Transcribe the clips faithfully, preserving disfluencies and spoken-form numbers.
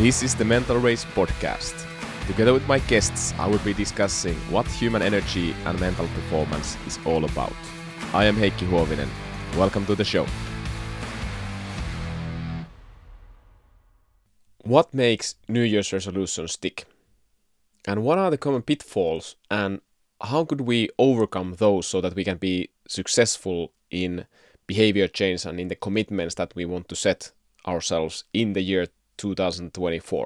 This is the Mental Race podcast. Together with my guests, I will be discussing what human energy and mental performance is all about. I am Heikki Huovinen. Welcome to the show. What makes New Year's resolutions stick? And what are the common pitfalls, and how could we overcome those so that we can be successful in behavior change and in the commitments that we want to set ourselves in the year two thousand twenty-four?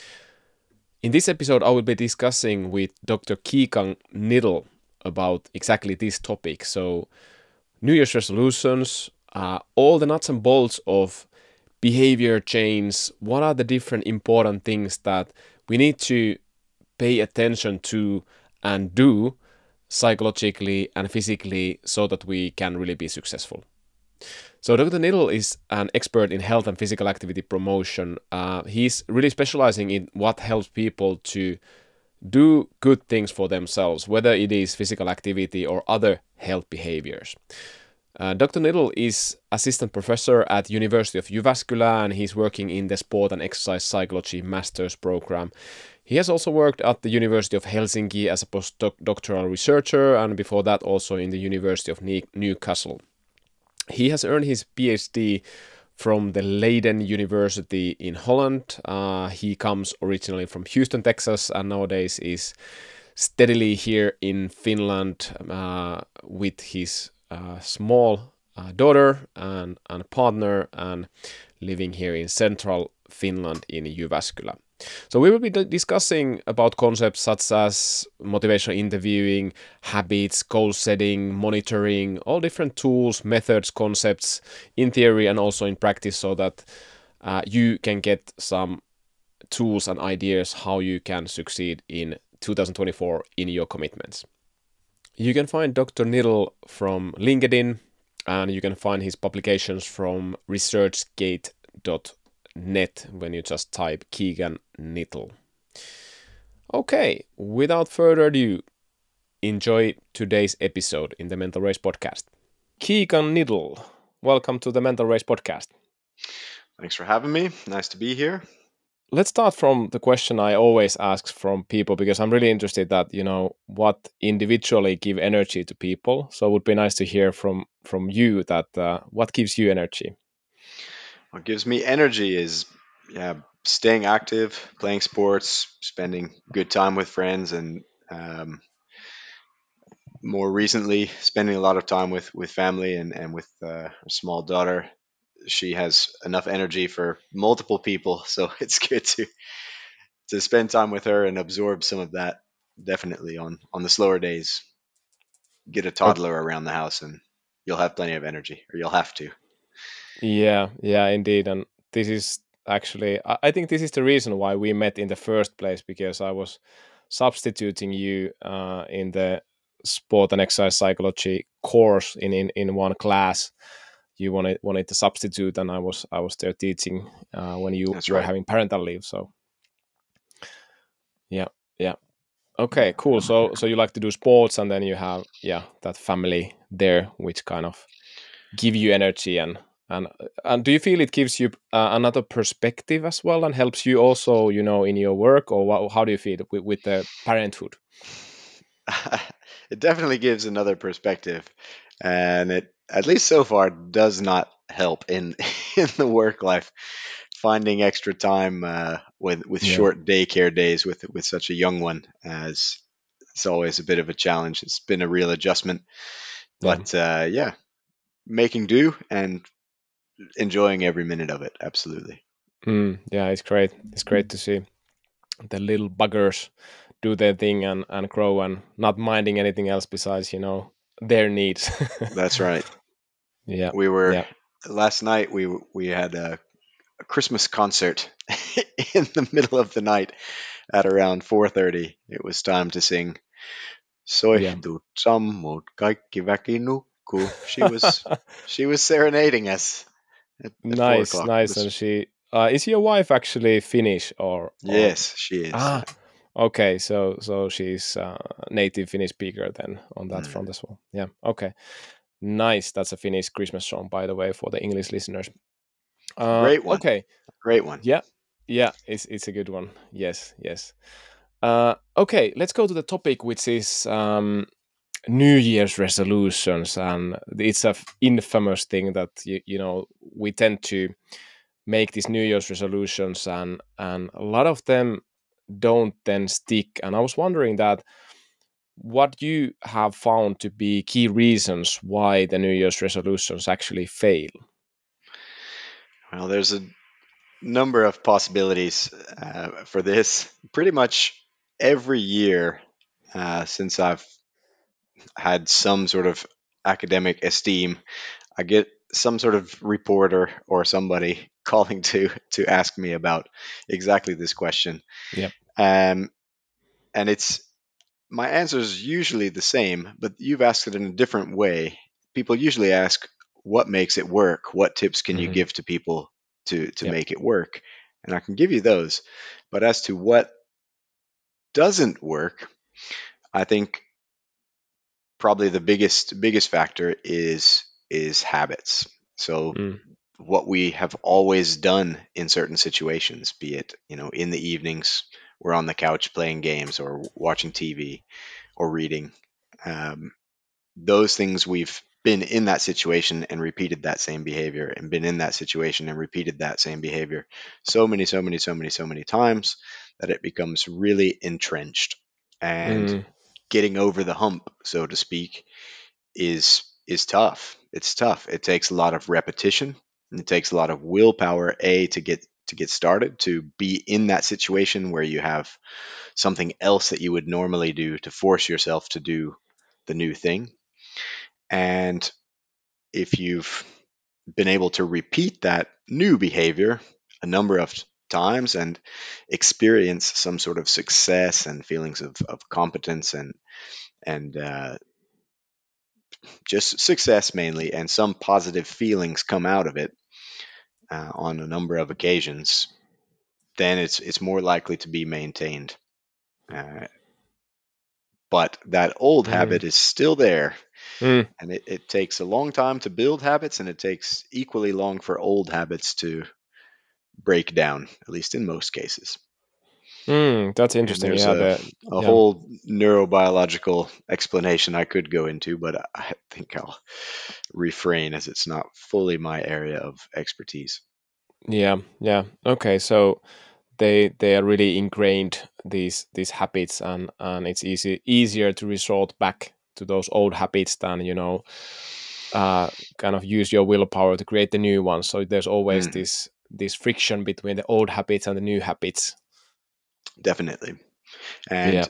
In this episode, I will be discussing with Doctor Keegan Niddle about exactly this topic. So, New Year's resolutions, uh, all the nuts and bolts of behavior change, what are the different important things that we need to pay attention to and do psychologically and physically so that we can really be successful. So Doctor Niddle is an expert in health and physical activity promotion. Uh, he's really specializing in what helps people to do good things for themselves, whether it is physical activity or other health behaviors. Uh, Doctor Niddle is assistant professor at University of Jyväskylä, and he's working in the sport and exercise psychology master's program. He has also worked at the University of Helsinki as a postdoctoral researcher, and before that also in the University of Newcastle. He has earned his PhD from the Leiden University in Holland. Uh, he comes originally from Houston, Texas, and nowadays is steadily here in Finland uh, with his uh, small uh, daughter and, and partner, and living here in central Finland in Jyväskylä. So we will be d- discussing about concepts such as motivational interviewing, habits, goal setting, monitoring, all different tools, methods, concepts in theory and also in practice, so that uh, you can get some tools and ideas how you can succeed in two thousand twenty-four in your commitments. You can find Doctor Niddle from LinkedIn, and you can find his publications from researchgate dot net when you just type Keegan Niddle. Okay, without further ado, enjoy today's episode in the Mental Race podcast. Keegan Niddle, welcome to the Mental Race podcast. Thanks for having me. Nice to be here. Let's start from the question I always ask from people, because I'm really interested that, you know, what individually give energy to people. So it would be nice to hear from from you that uh, what gives you energy. What gives me energy is yeah, staying active, playing sports, spending good time with friends, and um, more recently, spending a lot of time with, with family and, and with uh, a small daughter. She has enough energy for multiple people, so it's good to to spend time with her and absorb some of that. Definitely on on the slower days, get a Okay. toddler around the house, and you'll have plenty of energy, or you'll have to. Yeah, yeah, indeed. And this is actually, I I think this is the reason why we met in the first place, because I was substituting you uh, in the sport and exercise psychology course in, in, in one class. You wanted wanted to substitute, and I was I was there teaching uh, when you That's were right. having parental leave. So yeah, yeah. Okay, cool. So so you like to do sports, and then you have yeah that family there, which kind of give you energy, and and and do you feel it gives you uh, another perspective as well, and helps you also, you know, in your work, or what, how do you feel with, with the parenthood? It definitely gives another perspective, and it, at least so far, does not help in in the work life. Finding extra time uh, with with Yeah, short daycare days with with such a young one, as it's always a bit of a challenge. It's been a real adjustment, yeah, but uh, yeah, making do and enjoying every minute of it. Absolutely. mm, yeah. It's great. It's great to see the little buggers do their thing and and grow, and not minding anything else besides, you know, their needs. That's right. Yeah, We were yeah. last night. We we had a, a Christmas concert in the middle of the night at around four thirty. It was time to sing Yeah. Soihtu sammut, kaikki väki nukkuu. She was she was serenading us at, at four Nice, o'clock. It nice. was And she uh, is your wife actually Finnish, or or yes, she is. ah, Yeah. okay. So so she's uh, native Finnish speaker then on that Mm. front as well. Yeah. Okay. Nice. That's a Finnish Christmas song, by the way, for the English listeners. Uh, Great one. okay. Great one. Yeah. Yeah, it's it's a good one. Yes, yes. Uh, okay, let's go to the topic, which is um, New Year's resolutions, and it's a f- infamous thing that you, you know we tend to make these New Year's resolutions, and and a lot of them don't then stick. And I was wondering that what you have found to be key reasons why the New Year's resolutions actually fail. Well, there's a number of possibilities uh, for this. Pretty much every year uh, since I've had some sort of academic esteem, I get some sort of reporter or somebody calling to to ask me about exactly this question. Yep. Um, and it's my answer is usually the same, but you've asked it in a different way. People usually ask, "What makes it work? What tips can you Hmm. give to people to to Yep. make it work?" And I can give you those. But as to what doesn't work, I think probably the biggest biggest factor is is habits. So Mm. what we have always done in certain situations, be it, you know, in the evenings, we're on the couch playing games or watching T V or reading. Um, those things we've been in that situation and repeated that same behavior and been in that situation and repeated that same behavior so many, so many, so many, so many times that it becomes really entrenched. And Mm. getting over the hump, so to speak, is is tough. It's tough. It takes a lot of repetition. And it takes a lot of willpower, a to get to get started, to be in that situation where you have something else that you would normally do to force yourself to do the new thing. And if you've been able to repeat that new behavior a number of times and experience some sort of success and feelings of, of competence and and uh, just success mainly, and some positive feelings come out of it uh, on a number of occasions, then it's it's more likely to be maintained. Uh, but that old Mm. habit is still there, Mm. and it, it takes a long time to build habits, and it takes equally long for old habits to break down, at least in most cases. Mm. That's And interesting. there's Yeah. a The a yeah. whole neurobiological explanation I could go into, but I think I'll refrain as it's not fully my area of expertise. Yeah. Yeah. Okay. So they they are really ingrained these these habits, and and it's easy easier to resort back to those old habits than you know uh kind of use your willpower to create the new ones. So there's always Mhm, this this friction between the old habits and the new habits. definitely. Yeah. And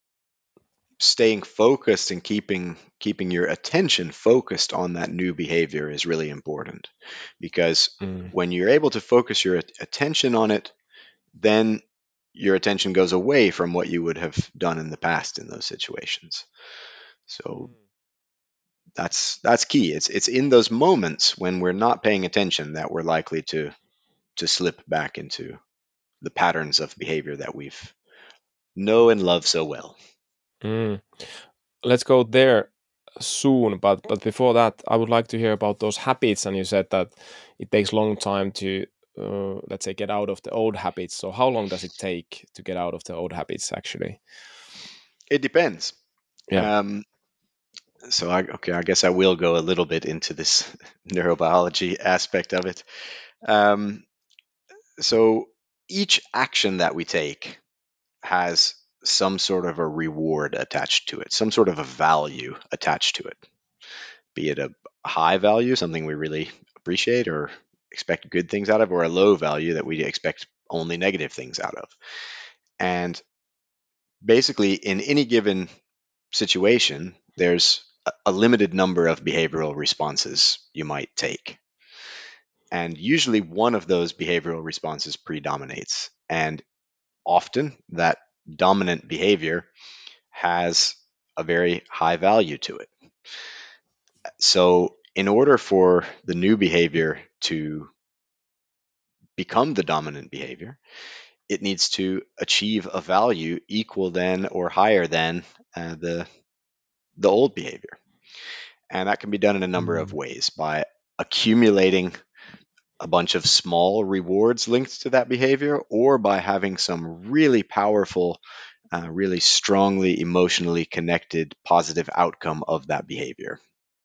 staying focused and keeping keeping your attention focused on that new behavior is really important, because Mm. when you're able to focus your at- attention on it, then your attention goes away from what you would have done in the past in those situations. So Mm. that's that's key. It's it's in those moments when we're not paying attention that we're likely to to slip back into the patterns of behavior that we've know and love so well. Mm. Let's go there soon, but but before that I would like to hear about those habits, and you said that it takes long time to uh, let's say get out of the old habits. So how long does it take to get out of the old habits actually? It depends. Yeah. Um, so I okay, I guess I will go a little bit into this neurobiology aspect of it. Um, so each action that we take has some sort of a reward attached to it, some sort of a value attached to it, be it a high value, something we really appreciate or expect good things out of, or a low value that we expect only negative things out of. And basically, in any given situation, there's a a limited number of behavioral responses you might take. And usually one of those behavioral responses predominates. And often that dominant behavior has a very high value to it. So, in order for the new behavior to become the dominant behavior, it needs to achieve a value equal than or higher than uh, the the old behavior. And that can be done in a number of Mm. ways by accumulating a bunch of small rewards linked to that behavior, or by having some really powerful, uh, really strongly emotionally connected positive outcome of that behavior.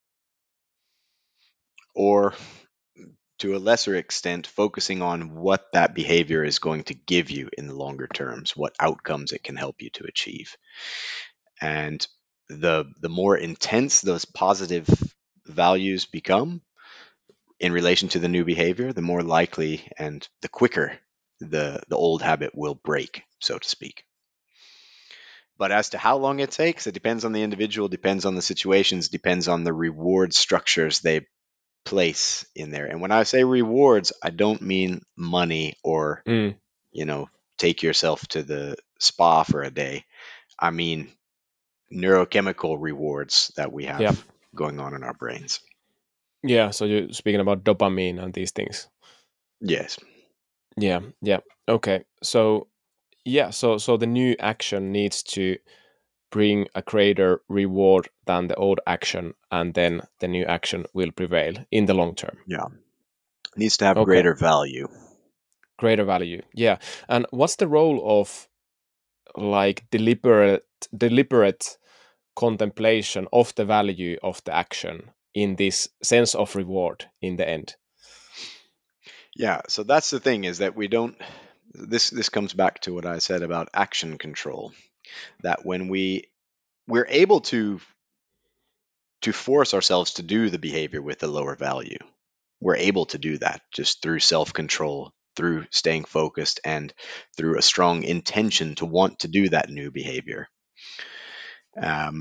Or to a lesser extent, focusing on what that behavior is going to give you in the longer terms, what outcomes it can help you to achieve. And the the more intense those positive values become in relation to the new behavior, the more likely and the quicker the the old habit will break, so to speak. But as to how long it takes, it depends on the individual, depends on the situations, depends on the reward structures they place in there. And when I say rewards, I don't mean money or, Mm. you know, take yourself to the spa for a day. I mean neurochemical rewards that we Yeah. have going on in our brains. Yeah. So you're speaking about dopamine and these things. Yes. Yeah. Yeah. Okay. So yeah. So so the new action needs to bring a greater reward than the old action, and then the new action will prevail in the long term. Yeah. It needs to have Okay. greater value. Greater value. Yeah. And what's the role of like deliberate deliberate contemplation of the value of the action in this sense of reward in the end? Yeah, so that's the thing, is that we don't this this comes back to what I said about action control, that when we we're able to to force ourselves to do the behavior with the lower value. We're able to do that just through self-control, through staying focused, and through a strong intention to want to do that new behavior. Um,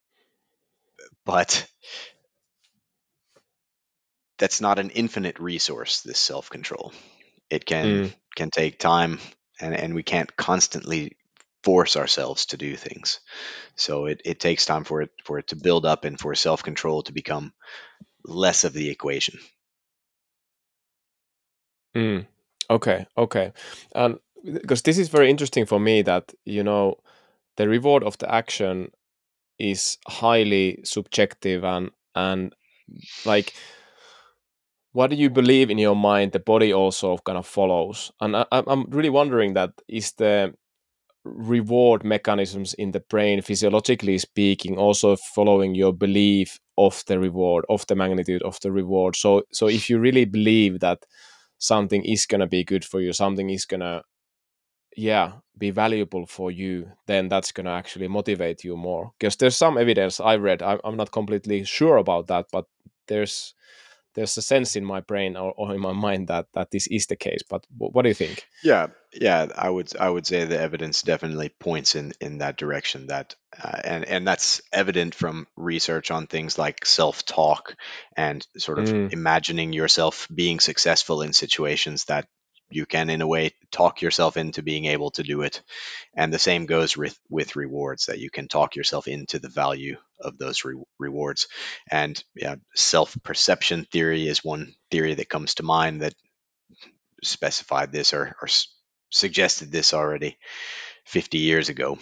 but that's not an infinite resource, this self-control. It can Mm. can take time, and, and we can't constantly force ourselves to do things. So it, it takes time for it for it to build up and for self-control to become less of the equation. Mm. Okay, okay. And because this is very interesting for me that, you know, the reward of the action is highly subjective, and and like what do you believe in your mind the body also kind of follows. And I, I'm I'm really wondering that is the reward mechanisms in the brain physiologically speaking also following your belief of the reward, of the magnitude of the reward. So so if you really believe that something is going to be good for you, something is going to, yeah, be valuable for you, then that's going to actually motivate you more. Because there's some evidence I read, I'm, I'm not completely sure about that, but there's there's a sense in my brain, or, or in my mind, that that this is the case. But wh- what do you think? Yeah, yeah, I would I would say the evidence definitely points in in that direction. That uh, and and that's evident from research on things like self-talk and sort of Mm, imagining yourself being successful in situations that you can, in a way, talk yourself into being able to do it. And the same goes with with rewards, that you can talk yourself into the value of those re- rewards. And yeah, self-perception theory is one theory that comes to mind that specified this, or, or s- suggested this already fifty years ago,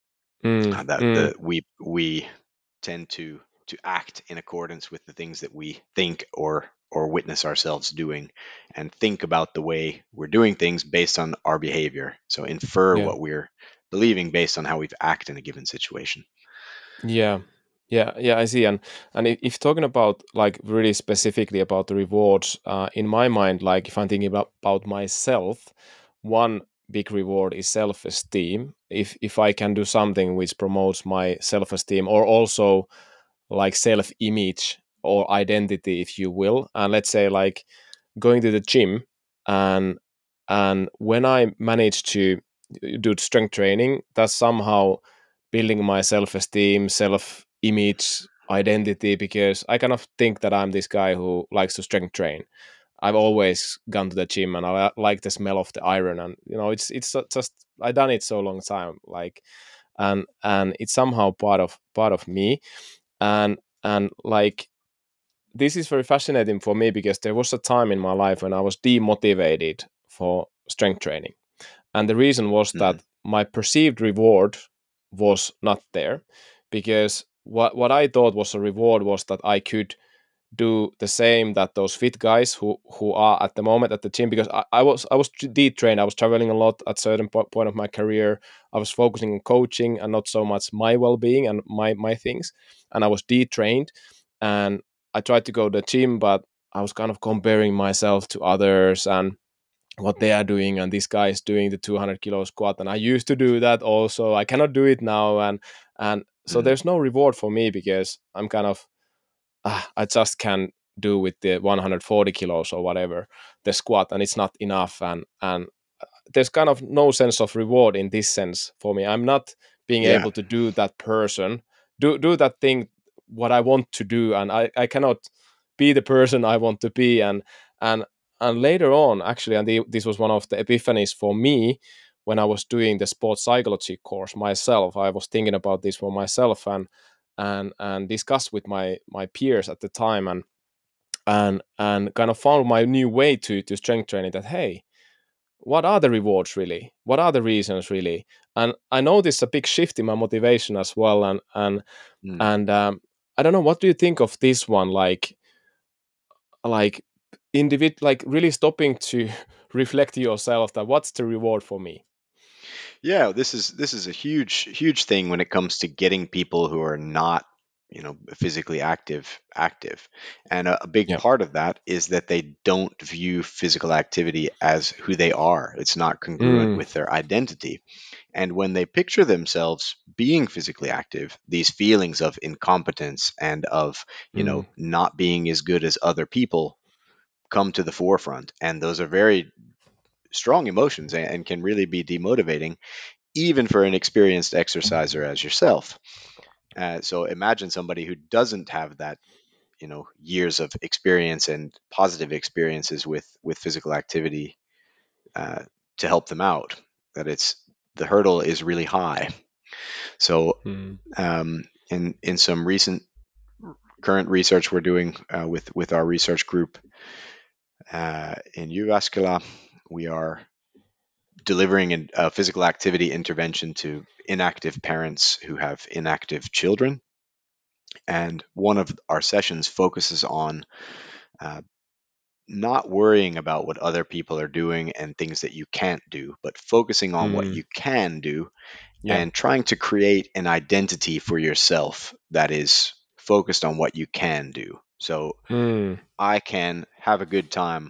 mm, uh, that mm, the we we tend to to act in accordance with the things that we think or or witness ourselves doing, and think about the way we're doing things based on our behavior, so infer yeah. what we're believing based on how we've acted in a given situation. Yeah, yeah, yeah. I see. And and if, if talking about like really specifically about the rewards, uh, in my mind, like if I'm thinking about, about myself, one big reward is self-esteem. If if I can do something which promotes my self-esteem, or also like self-image or identity, if you will, and let's say like going to the gym, and and when I manage to do strength training, that's somehow building my self-esteem, self-image, identity, because I kind of think that I'm this guy who likes to strength train. I've always gone to the gym, and I like the smell of the iron, and you know, it's it's just I done it so long time, like, and and it's somehow part of part of me, and and like this is very fascinating for me because there was a time in my life when I was demotivated for strength training. And the reason was Mhm. that my perceived reward was not there, because what, what I thought was a reward was that I could do the same that those fit guys who who are at the moment at the gym, because I, I was I was detrained. I was traveling a lot at certain po- point of my career. I was focusing on coaching and not so much my well-being and my my things, and I was detrained, and I tried to go to the gym, but I was kind of comparing myself to others and what they are doing, and this guy is doing the two hundred kilo squat, and I used to do that also. I cannot do it now, and and so Mm. there's no reward for me because I'm kind of ah, I just can do with the one hundred forty kilos or whatever the squat, and it's not enough, and and there's kind of no sense of reward in this sense for me. I'm not being Yeah. able to do that person do do that thing what I want to do, and I I cannot be the person I want to be, and and and later on actually, and the, this was one of the epiphanies for me when I was doing the sports psychology course myself. I was thinking about this for myself and and and discussed with my my peers at the time, and and and kind of found my new way to to strength training, that hey, what are the rewards really, what are the reasons really. And I noticed a big shift in my motivation as well, and and Mm. and um, I don't know, what do you think of this one, like like individ like really stopping to reflect yourself that what's the reward for me. Yeah, this is this is a huge huge thing when it comes to getting people who are not, you know, physically active active. And a, a big Yeah. part of that is that they don't view physical activity as who they are. It's not congruent Mm, with their identity. And when they picture themselves being physically active, these feelings of incompetence and of, you mm, know, not being as good as other people come to the forefront. And those are very strong emotions and, and can really be demotivating, even for an experienced exerciser as yourself. Uh, so imagine somebody who doesn't have that, you know, years of experience and positive experiences with with physical activity uh, to help them out. That it's the hurdle is really high. So mm, um, in in some recent current research we're doing uh, with with our research group uh, in Jyväskylä, we are delivering an- a physical activity intervention to inactive parents who have inactive children. And one of our sessions focuses on uh, not worrying about what other people are doing and things that you can't do, but focusing on what mm, you can do yeah. and trying to create an identity for yourself that is focused on what you can do. So Mm, I can have a good time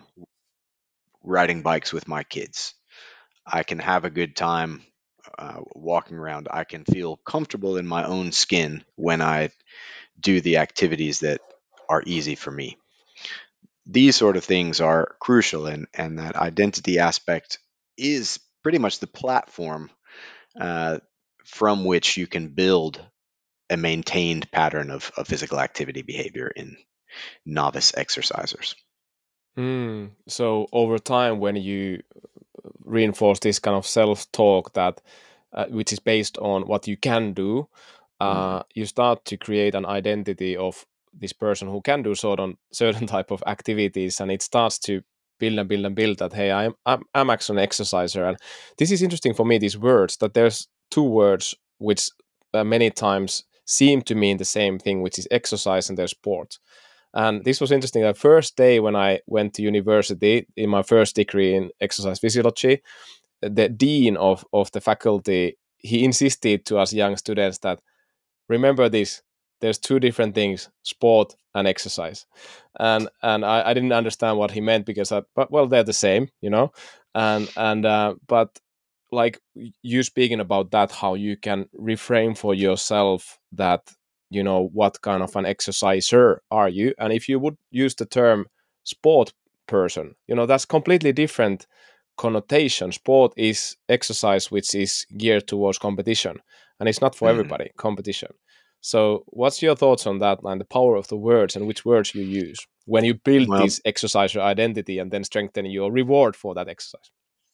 riding bikes with my kids. I can have a good time uh, walking around. I can feel comfortable in my own skin when I do the activities that are easy for me. These sort of things are crucial, and, and that identity aspect is pretty much the platform uh, from which you can build a maintained pattern of, of physical activity behavior in novice exercisers. mm. So over time, when you reinforce this kind of self-talk that uh, which is based on what you can do, Mhm. uh, you start to create an identity of this person who can do certain certain type of activities, and it starts to build and build and build that hey, i'm i'm, I'm actually an exerciser. And this is interesting for me, these words, that there's two words which uh, many times seem to mean the same thing, which is exercise and there's sport. And this was interesting. The first day when I went to university in my first degree in exercise physiology, the dean of, of the faculty, he insisted to us young students that remember this, there's two different things, sport and exercise. And and i, I didn't understand what he meant, because I, but well, they're the same, you know. And and uh, but like you speaking about that, how you can reframe for yourself that, you know, what kind of an exerciser are you, and if you would use the term sport person, you know, that's completely different connotation. Sport is exercise which is geared towards competition, and it's not for Mhm. everybody, competition. So what's your thoughts on that, and the power of the words and which words you use when you build Well, this exercise identity and then strengthen your reward for that exercise?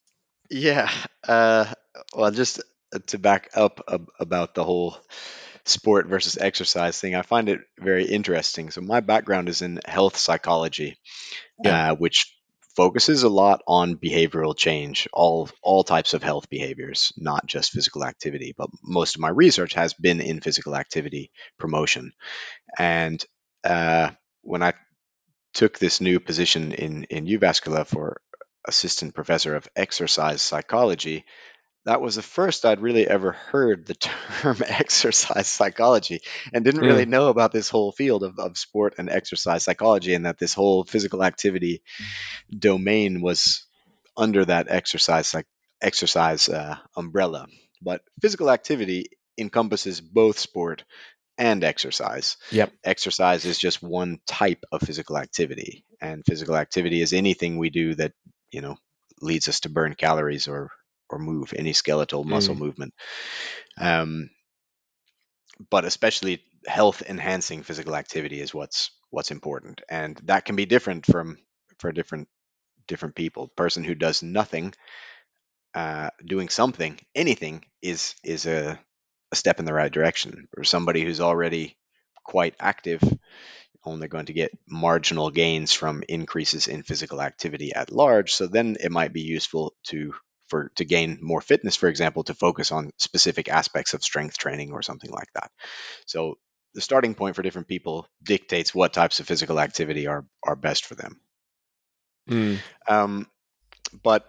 yeah. Uh, well, just uh, to back up ab- about the whole sport versus exercise thing, I find it very interesting. So, my background is in health psychology, Yeah. uh, which focuses a lot on behavioral change, all all types of health behaviors, not just physical activity. But most of my research has been in physical activity promotion. And uh, when I took this new position in in Uvascular for assistant professor of exercise psychology, that was the first I'd really ever heard the term exercise psychology, and didn't really Mm. know about this whole field of, of sport and exercise psychology, and that this whole physical activity domain was under that exercise psych- exercise uh, umbrella. But physical activity encompasses both sport and exercise. Yep. Exercise is just one type of physical activity, and physical activity is anything we do that, you know, leads us to burn calories or or move any skeletal muscle Mm. movement. Um, but especially health enhancing physical activity is what's what's important, and that can be different from for different different people. Person who does nothing, uh, doing something, anything is is a, a step in the right direction. Or somebody who's already quite active, only going to get marginal gains from increases in physical activity at large. So then it might be useful to for to gain more fitness, for example, to focus on specific aspects of strength training or something like that. So the starting point for different people dictates what types of physical activity are are best for them. Mm. Um, but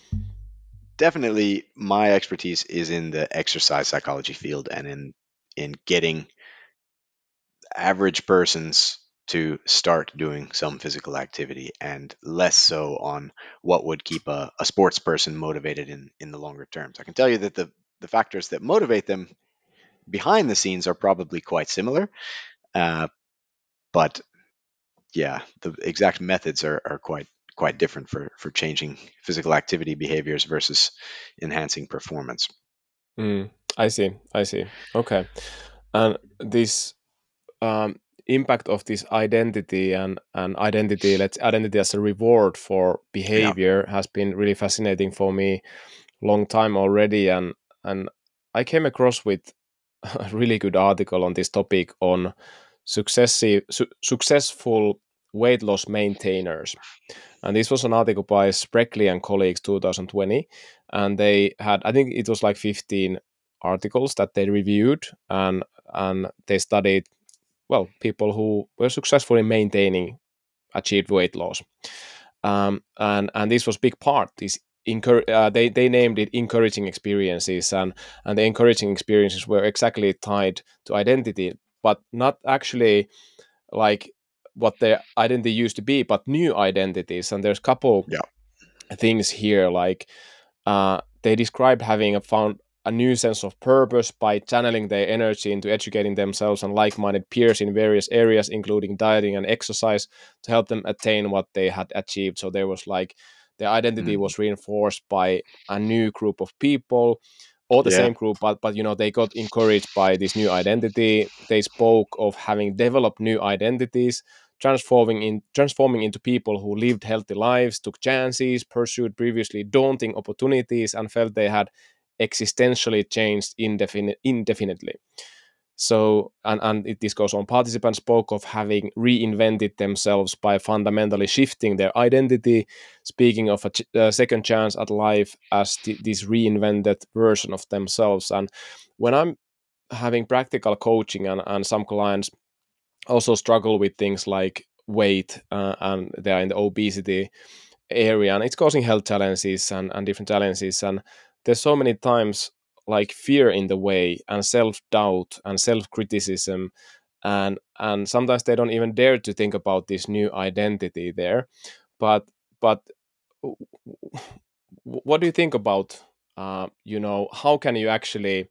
definitely my expertise is in the exercise psychology field and in in getting average persons to start doing some physical activity, and less so on what would keep a, a sports person motivated in in the longer terms. I can tell you that the the factors that motivate them behind the scenes are probably quite similar, uh, but yeah, the exact methods are, are quite quite different for for changing physical activity behaviors versus enhancing performance. Mm. I see. I see. Okay. And this um, impact of this identity and, and identity, let's identity as a reward for Yeah. behavior has been really fascinating for me long time already. And and I came across with a really good article on this topic on successive su- successful weight loss maintainers. And this was an article by Spreckley and colleagues twenty twenty. And they had, I think it was like fifteen articles that they reviewed, and and they studied, well, people who were successfully maintaining achieved weight loss. Um, and and this was big part. This encour- uh, they they named it encouraging experiences, and and the encouraging experiences were exactly tied to identity, but not actually like what their identity used to be, but new identities. And there's a couple Yeah. things here, like uh, they described having a found a new sense of purpose by channeling their energy into educating themselves and like-minded peers in various areas, including dieting and exercise, to help them attain what they had achieved. So there was like their identity Mhm. was reinforced by a new group of people, or the Yeah. same group, but but you know they got encouraged by this new identity. They spoke of having developed new identities, transforming in transforming into people who lived healthy lives, took chances, pursued previously daunting opportunities, and felt they had existentially changed indefin- indefinitely. So, and, and it, this goes on. Participants spoke of having reinvented themselves by fundamentally shifting their identity, speaking of a ch- uh, second chance at life as th- this reinvented version of themselves. And when I'm having practical coaching, and, and some clients also struggle with things like weight, uh, and they're in the obesity area, and it's causing health challenges and, and different challenges, and there's so many times like fear in the way, and self-doubt and self-criticism, and and sometimes they don't even dare to think about this new identity there. But but what do you think about, uh, you know how can you actually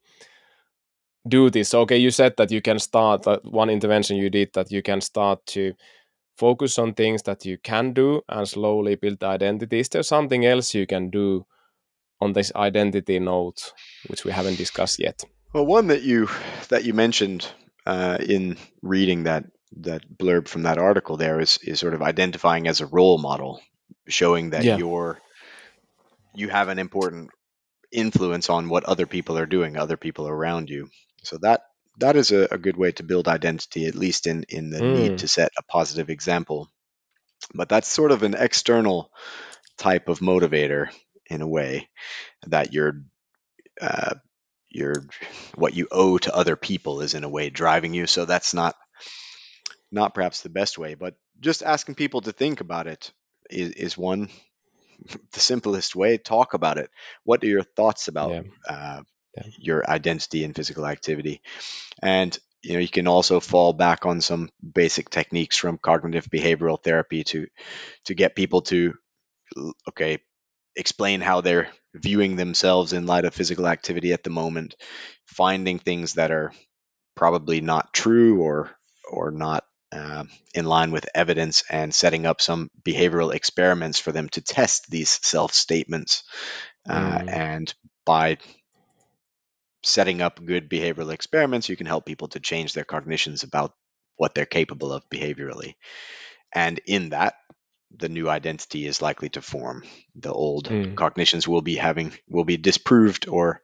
do this? Okay, you said that you can start, uh, one intervention you did, that you can start to focus on things that you can do and slowly build identity. Is there something else you can do on this identity note, which we haven't discussed yet? Well, one that you that you mentioned uh, in reading that that blurb from that article there is is sort of identifying as a role model, showing that Yeah. you're you have an important influence on what other people are doing, other people around you. So that that is a, a good way to build identity, at least in in the need Mm. to set a positive example. But that's sort of an external type of motivator in a way, that you're uh, your what you owe to other people is in a way driving you. So that's not not perhaps the best way. But just asking people to think about it is, is one. The simplest way, talk about it. What are your thoughts about Yeah, uh, yeah. your identity and physical activity? And you know, you can also fall back on some basic techniques from cognitive behavioral therapy to to get people to, okay, explain how they're viewing themselves in light of physical activity at the moment, finding things that are probably not true or or not um, in line with evidence, and setting up some behavioral experiments for them to test these self statements. Uh, Mm, and by setting up good behavioral experiments, you can help people to change their cognitions about what they're capable of behaviorally. And in that, the new identity is likely to form. The old mm. cognitions will be having will be disproved or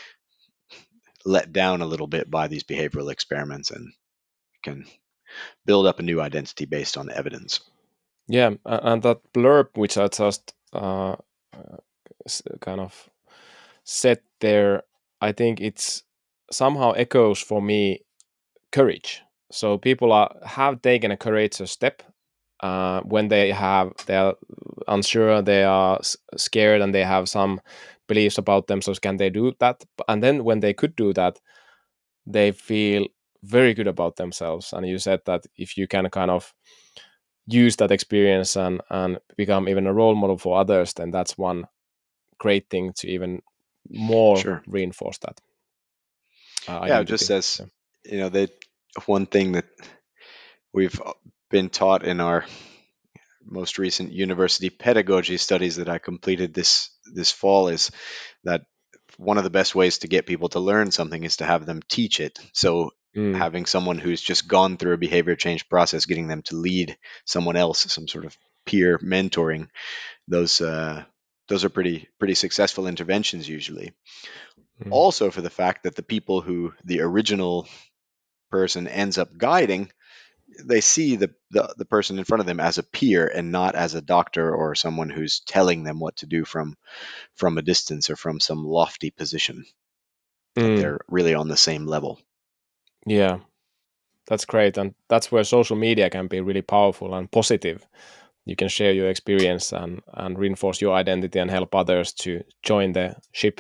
let down a little bit by these behavioral experiments, and can build up a new identity based on evidence. Yeah, a- and that blurb which I just uh, uh, s- kind of set there, I think it's somehow echoes for me courage. So people are have taken a courageous step uh, when they have they are unsure, they are s- scared, and they have some beliefs about themselves. Can they do that? And then when they could do that, they feel very good about themselves. And you said that if you can kind of use that experience and and become even a role model for others, then that's one great thing to even more Sure. reinforce that uh, Yeah, just identity. as Yeah. you know, they one thing that we've been taught in our most recent university pedagogy studies that I completed this this fall is that one of the best ways to get people to learn something is to have them teach it. So Mm, having someone who's just gone through a behavior change process, getting them to lead someone else, some sort of peer mentoring, those uh, those are pretty pretty successful interventions usually. mm, Also, for the fact that the people who the original person ends up guiding, they see the, the the person in front of them as a peer and not as a doctor or someone who's telling them what to do from from a distance or from some lofty position, that mm. they're really on the same level. Yeah, that's great, and that's where social media can be really powerful and positive. You can share your experience and and reinforce your identity and help others to join the ship.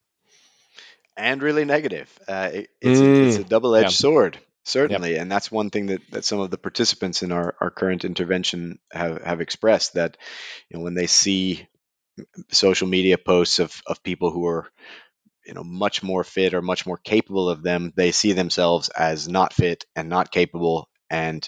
And really negative. Uh, it, it's a it's Mm, a double yeah, edged sword, yep. certainly, and that's one thing that, that some of the participants in our, our current intervention have, have expressed, that you know, when they see social media posts of, of people who are, you know, much more fit or much more capable of them, they see themselves as not fit and not capable, and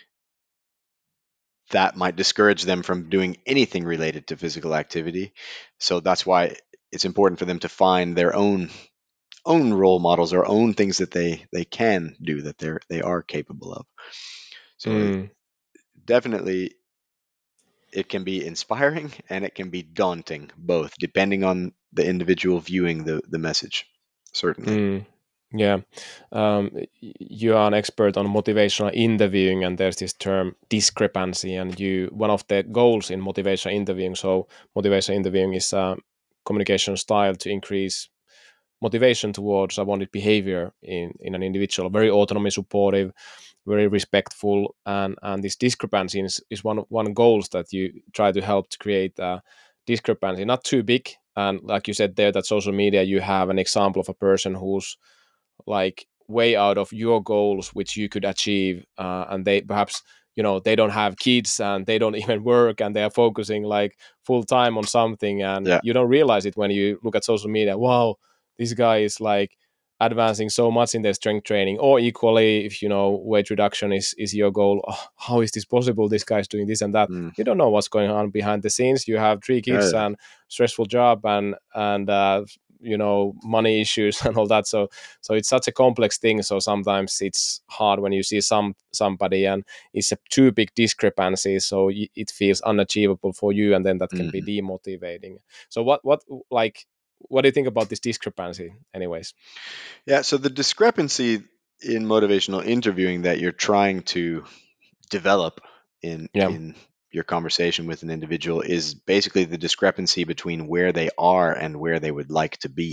that might discourage them from doing anything related to physical activity. So that's why it's important for them to find their own own role models or own things that they they can do, that they're they are capable of. So it, Mm, definitely, it can be inspiring and it can be daunting, both depending on the individual viewing the the message, certainly. mm. Yeah, um, y- you are an expert on motivational interviewing, and there's this term discrepancy. And you, one of the goals in motivational interviewing. So, motivational interviewing is a communication style to increase motivation towards a wanted behavior in in an individual. Very autonomy supportive, very respectful, and and this discrepancy is, is one one goals that you try to help to create a discrepancy, not too big. And like you said there, that social media, you have an example of a person who's like way out of your goals which you could achieve, uh, and they perhaps, you know, they don't have kids and they don't even work, and they are focusing like full time on something, and Yeah. you don't realize it when you look at social media. Wow, this guy is like advancing so much in their strength training. Or equally, if you know weight reduction is is your goal, oh, how is this possible, this guy's doing this and that. Mm. You don't know what's going on behind the scenes. You have three Yeah, kids yeah. and stressful job and and uh, you know, money issues and all that. So so it's such a complex thing. So sometimes it's hard when you see some somebody and it's a too big discrepancy, so y- it feels unachievable for you, and then that can be Mhm. demotivating. So what what like what do you think about this discrepancy anyways? Yeah, so the discrepancy in motivational interviewing that you're trying to develop in Yeah. in your conversation with an individual is basically the discrepancy between where they are and where they would like to be.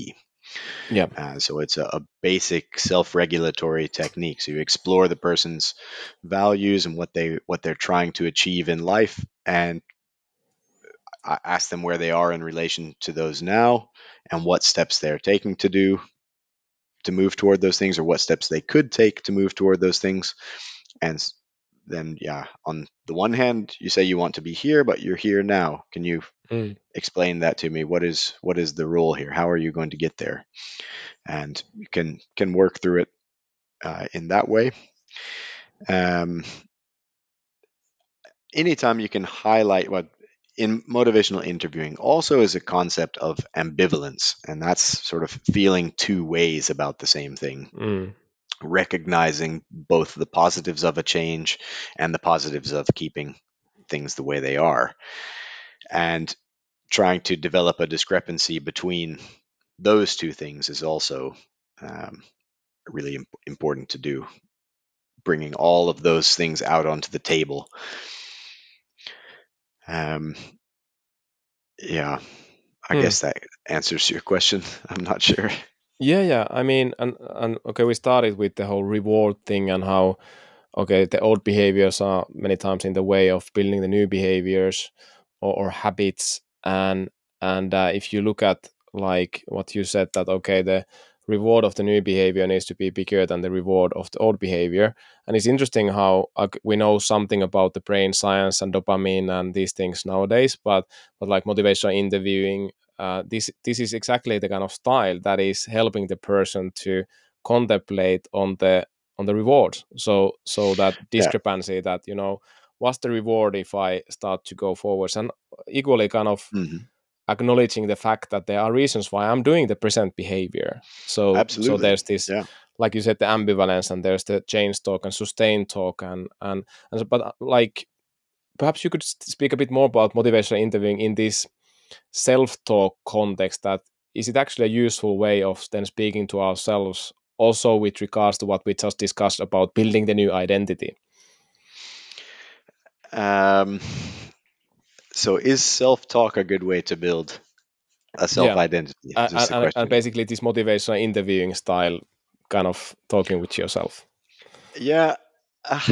Yeah. Uh, so it's a, a basic self-regulatory technique. So you explore the person's values and what they what they're trying to achieve in life, and I ask them where they are in relation to those now, and what steps they're taking to do to move toward those things, or what steps they could take to move toward those things. And then, yeah, on the one hand, you say you want to be here, but you're here now. Can you Mm. explain that to me? What is what is the role here? How are you going to get there? And you can can work through it uh, in that way. Um, anytime you can highlight what in motivational interviewing also is a concept of ambivalence, and that's sort of feeling two ways about the same thing, Mm. recognizing both the positives of a change and the positives of keeping things the way they are, and trying to develop a discrepancy between those two things is also um, really imp- important to do, bringing all of those things out onto the table. um, yeah, I Mm. guess that answers your question. I'm not sure. Yeah, yeah. I mean, and and okay, we started with the whole reward thing and how okay, the old behaviors are many times in the way of building the new behaviors or, or habits, and and uh, if you look at like what you said that okay, the reward of the new behavior needs to be bigger than the reward of the old behavior, and it's interesting how uh, we know something about the brain science and dopamine and these things nowadays, but but like motivational interviewing. Uh, this this is exactly the kind of style that is helping the person to contemplate on the on the reward, so so that Yeah. discrepancy that you know what's the reward if I start to go forwards, and equally kind of Hmm. acknowledging the fact that there are reasons why I'm doing the present behavior. So so Absolutely. there's this, Yeah. like you said, the ambivalence, and there's the change talk and sustain talk, and and, and so, but uh, like perhaps you could speak a bit more about motivational interviewing in this self-talk context, that is it actually a useful way of then speaking to ourselves also with regards to what we just discussed about building the new identity. Um, so is self-talk a good way to build a Yeah, self-identity? Is this and, the and, and question? basically this motivational interviewing style, kind of talking with yourself. Yeah. uh,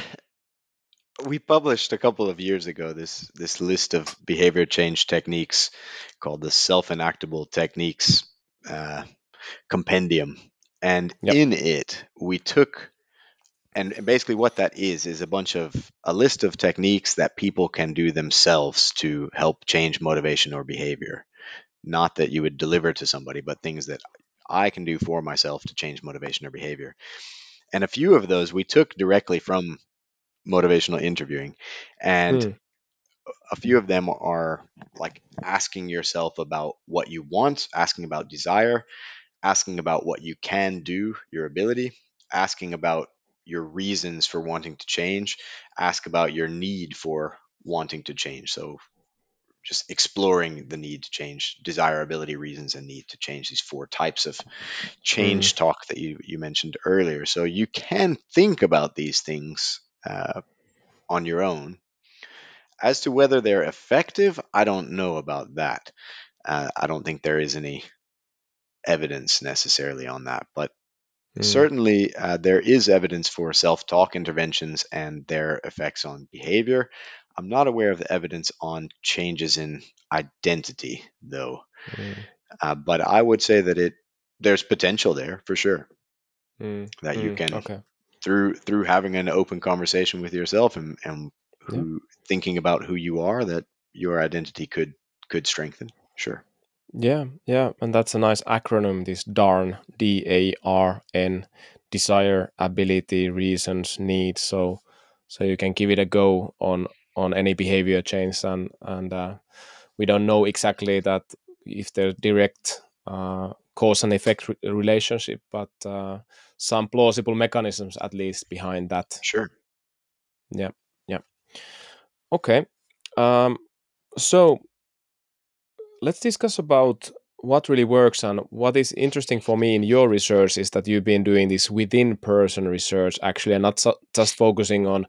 we published a couple of years ago this this list of behavior change techniques called the self-enactable techniques uh, compendium, and Yep. in it we took, and basically what that is is a bunch of a list of techniques that people can do themselves to help change motivation or behavior. Not that you would deliver to somebody, but things that I can do for myself to change motivation or behavior. And a few of those we took directly from motivational interviewing. And Mm. a few of them are like asking yourself about what you want, asking about desire, asking about what you can do, your ability, asking about your reasons for wanting to change, ask about your need for wanting to change. So just exploring the need to change, desirability, reasons, and need to change, these four types of Mm. change talk that you, you mentioned earlier. So you can think about these things uh, on your own. As to whether they're effective, I don't know about that. Uh, I don't think there is any evidence necessarily on that, but Mm. certainly uh, there is evidence for self-talk interventions and their effects on behavior. I'm not aware of the evidence on changes in identity, though. Mm. Uh, but I would say that it there's potential there for sure, Mm. that you Mm. can, Okay. through through having an open conversation with yourself and and Yeah. who thinking about who you are, that your identity could could strengthen. Sure. Yeah, yeah, and that's a nice acronym. This DARN, D A R N, desire, ability, reasons, needs. So, so you can give it a go on on any behavior change, and and uh, we don't know exactly that if there's direct uh, cause and effect re- relationship, but uh, some plausible mechanisms at least behind that. Sure. Yeah, yeah. Okay. Um, so let's discuss about what really works, and what is interesting for me in your research is that you've been doing this within person research actually, and not so, just focusing on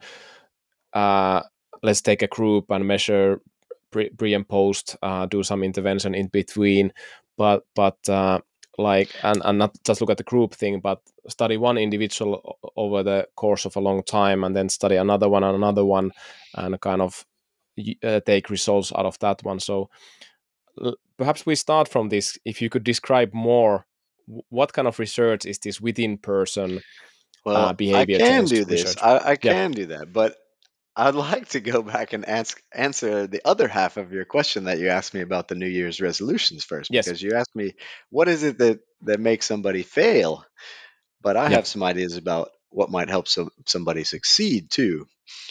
uh, let's take a group and measure pre, pre and post, uh, do some intervention in between, but but uh, like and, and not just look at the group thing, but study one individual o- over the course of a long time, and then study another one and another one, and kind of y- uh, take results out of that one. So l- perhaps we start from this. If you could describe more, w- what kind of research is this within person uh, Well, I behavior can change do this. research? I, I Yeah. can do that, but I'd like to go back and ask, answer the other half of your question that you asked me about the New Year's resolutions first, Yes. because you asked me what is it that that makes somebody fail, but I Yeah. have some ideas about what might help some somebody succeed too,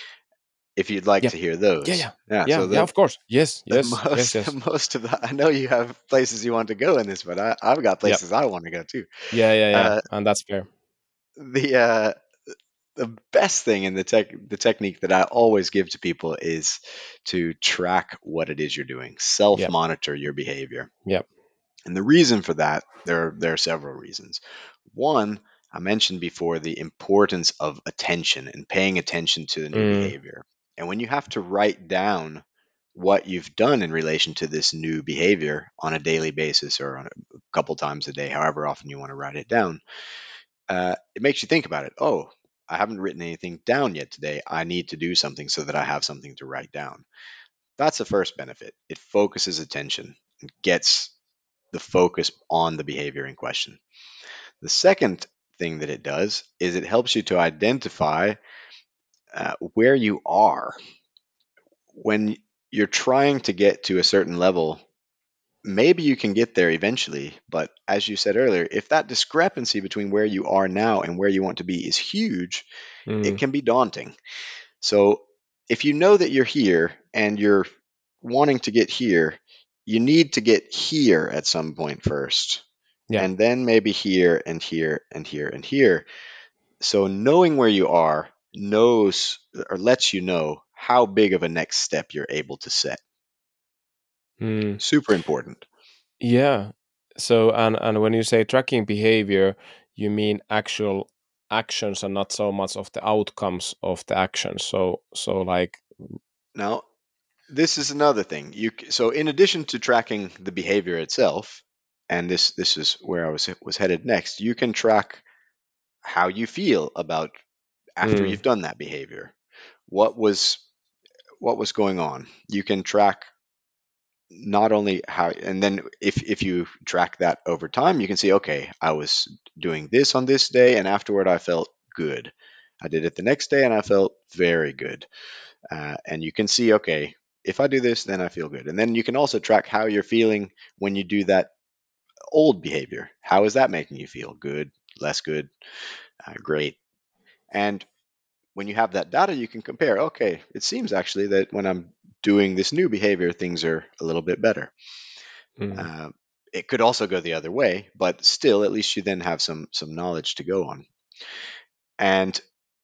if you'd like Yeah. to hear Yeah. those. Yeah. Yeah, Yeah. so Yeah. the Of course. Yes. the Yes. Yes. most the Yes. most of the I know you have places you want to go in this, but I I've got Yeah. places I want to go too. Yeah. Yeah. Yeah. Uh, And that's fair. the uh, the best thing in the tech the technique that I always give to people is to track what it is you're doing. Self Yeah. monitor your behavior. Yeah. And the reason for that, there there are several reasons. One, I mentioned before the importance of attention and paying attention to the new Mm, behavior. And when you have to write down what you've done in relation to this new behavior on a daily basis or on a couple times a day, however often you want to write it down, uh, it makes you think about it. Oh, I haven't written anything down yet today. I need to do something so that I have something to write down. That's the first benefit. It focuses attention and gets the focus on the behavior in question. The second thing that it does is it helps you to identify uh, where you are when you're trying to get to a certain level. Maybe you can get there eventually, but as you said earlier, if that discrepancy between where you are now and where you want to be is huge, it mm, can be daunting. So if you know that you're here and you're wanting to get here, you need to get here at some point first, yeah. and then maybe here and here and here and here. So knowing where you are knows or lets you know how big of a next step you're able to set. Mm, Super important. yeah. So and and when you say tracking behavior, you mean actual actions and not so much of the outcomes of the actions. So so like Now, this is another thing. You c- so in addition to tracking the behavior itself, and this this is where I was was headed next, you can track how you feel about after mm, you've done that behavior. What was what was going on? You can track not only how, and then if if you track that over time, you can see, okay, I was doing this on this day, and afterward I felt good. I did it the next day, and I felt very good. Uh, and you can see, okay, if I do this, then I feel good. And then you can also track how you're feeling when you do that old behavior. How is that making you feel? Good, less good, uh, great. And when you have that data, you can compare, okay, it seems actually that when I'm doing this new behavior, things are a little bit better. mm, Uh, it could also go the other way, but still, at least you then have some some knowledge to go on. And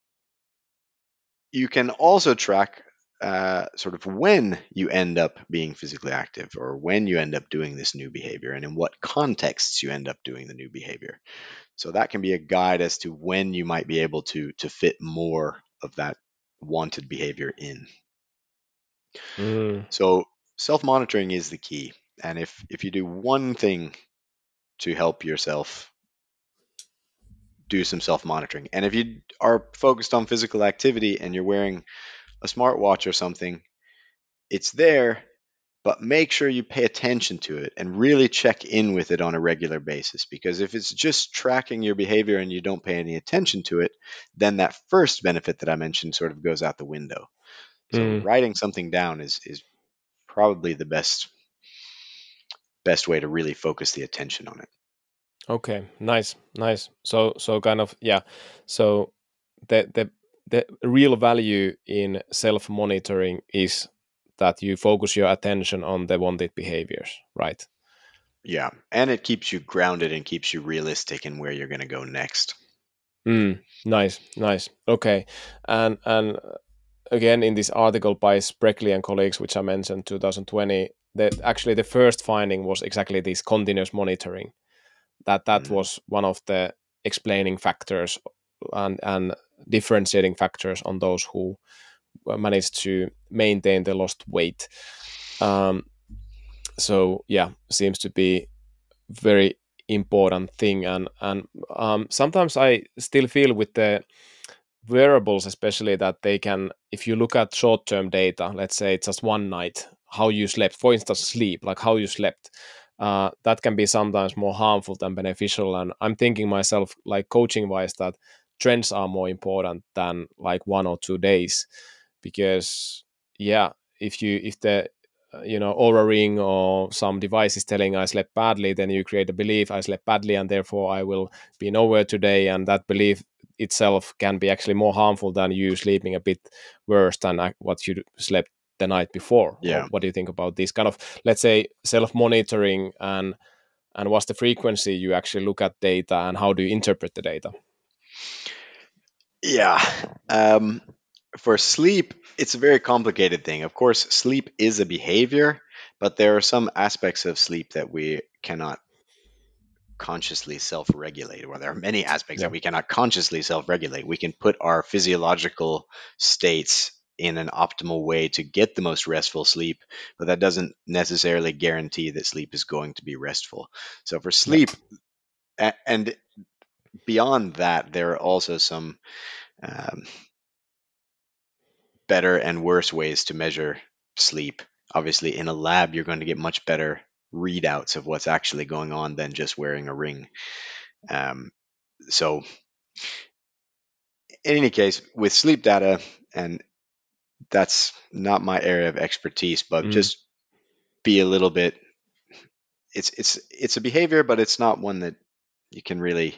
you can also track uh, sort of when you end up being physically active or when you end up doing this new behavior and in what contexts you end up doing the new behavior. So that can be a guide as to when you might be able to to fit more of that wanted behavior in. mm, So self-monitoring is the key. And if if you do one thing to help yourself, do some self-monitoring. And if you are focused on physical activity and you're wearing a smartwatch or something, it's there, but make sure you pay attention to it and really check in with it on a regular basis. Because if it's just tracking your behavior and you don't pay any attention to it, then that first benefit that I mentioned sort of goes out the window. So mm. writing something down is is probably the best best way to really focus the attention on it. Okay, nice, nice. So so kind of yeah. So the the the real value in self monitoring is that you focus your attention on the wanted behaviors, right? Yeah, and it keeps you grounded and keeps you realistic in where you're going to go next. Mm, nice, nice. Okay, and and uh, again in this article by Spreckley and colleagues, which I mentioned, twenty twenty, that actually the first finding was exactly this continuous monitoring. That that Mhm. was one of the explaining factors and and differentiating factors on those who managed to maintain the lost weight. Um, so yeah, seems to be very important thing. And and um, sometimes I still feel with the wearables especially that they can, if you look at short term data, let's say it's just one night how you slept, for instance sleep, like how you slept, uh, that can be sometimes more harmful than beneficial. And I'm thinking myself, like coaching wise, that trends are more important than like one or two days. Because yeah, if you if the uh, you know, Aura Ring or some device is telling I slept badly, then you create a belief I slept badly and therefore I will be nowhere today, and that belief itself can be actually more harmful than you sleeping a bit worse than ac- what you slept the night before. Or Yeah. what do you think about this kind of, let's say, self-monitoring, and and what's the frequency you actually look at data and how do you interpret the data? Yeah. Um, for sleep, it's a very complicated thing. Of course, sleep is a behavior, but there are some aspects of sleep that we cannot consciously self regulate, or there are many aspects that Yeah. we cannot consciously self regulate. We can put our physiological states in an optimal way to get the most restful sleep, but that doesn't necessarily guarantee that sleep is going to be restful. So, for Yeah. sleep, a- and beyond that, there are also some um, better and worse ways to measure sleep. Obviously, in a lab, you're going to get much better readouts of what's actually going on than just wearing a ring. Um, so, in any case, with sleep data, and that's not my area of expertise, but Mm. just be a little bit. It's it's it's a behavior, but it's not one that you can really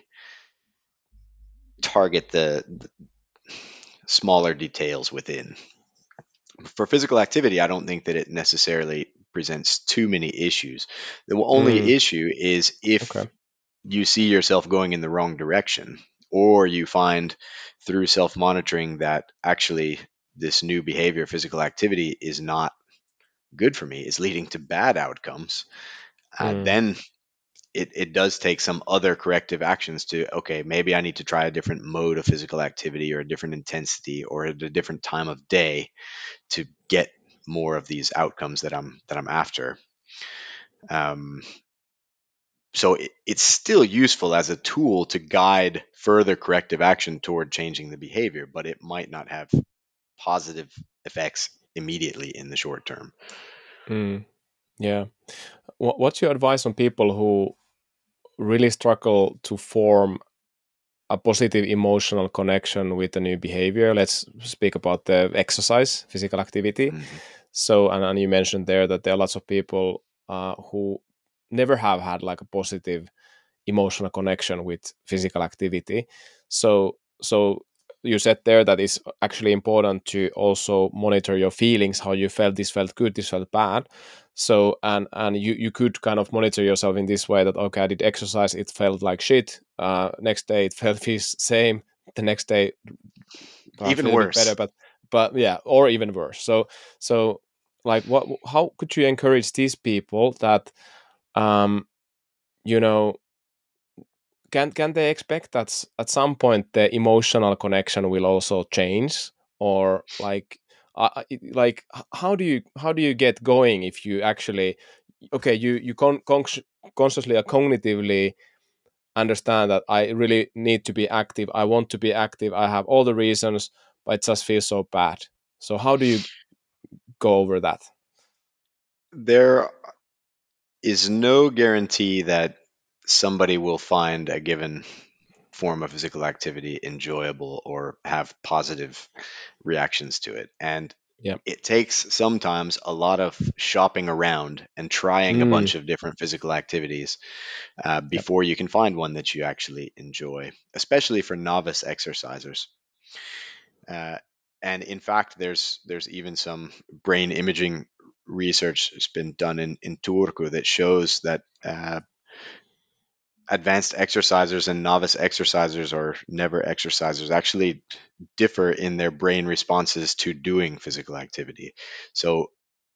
target the, the smaller details within. For physical activity, I don't think that it necessarily presents too many issues. The only Mm. issue is if Okay. you see yourself going in the wrong direction, or you find through self monitoring that actually this new behavior, physical activity, is not good for me, is leading to bad outcomes, uh, Mm. then it, it does take some other corrective actions to, okay, maybe I need to try a different mode of physical activity or a different intensity or at a different time of day to get more of these outcomes that I'm that I'm after. Um, so it, it's still useful as a tool to guide further corrective action toward changing the behavior, but it might not have positive effects immediately in the short term. Mm. Yeah. Wha- what's your advice on people who really struggle to form a positive emotional connection with a new behavior? Let's speak about the exercise, physical activity. Mhm. So, and, and you mentioned there that there are lots of people uh, who never have had like a positive emotional connection with physical activity. So, so you said there that it's actually important to also monitor your feelings, how you felt, this felt good, this felt bad. So, and and you you could kind of monitor yourself in this way that, okay, I did exercise, it felt like shit. Uh, next day it felt feels same. The next day perhaps a Even little bit better, worse. but but yeah, or even worse. So so like what, how could you encourage these people that um you know, can can they expect that s- at some point the emotional connection will also change? Or like uh, uh, it- like h- how do you how do you get going if you actually, okay, you you con- consci- consciously or cognitively understand that I really need to be active, I want to be active, I have all the reasons, but it just feels so bad. So how do you go over that? There is no guarantee that somebody will find a given form of physical activity enjoyable or have positive reactions to it. And Yeah. it takes sometimes a lot of shopping around and trying a Mm, bunch of different physical activities uh, yeah. before you can find one that you actually enjoy, especially for novice exercisers. Uh, and in fact, there's there's even some brain imaging research that's been done in, in Turku that shows that uh, advanced exercisers and novice exercisers or never exercisers actually differ in their brain responses to doing physical activity. So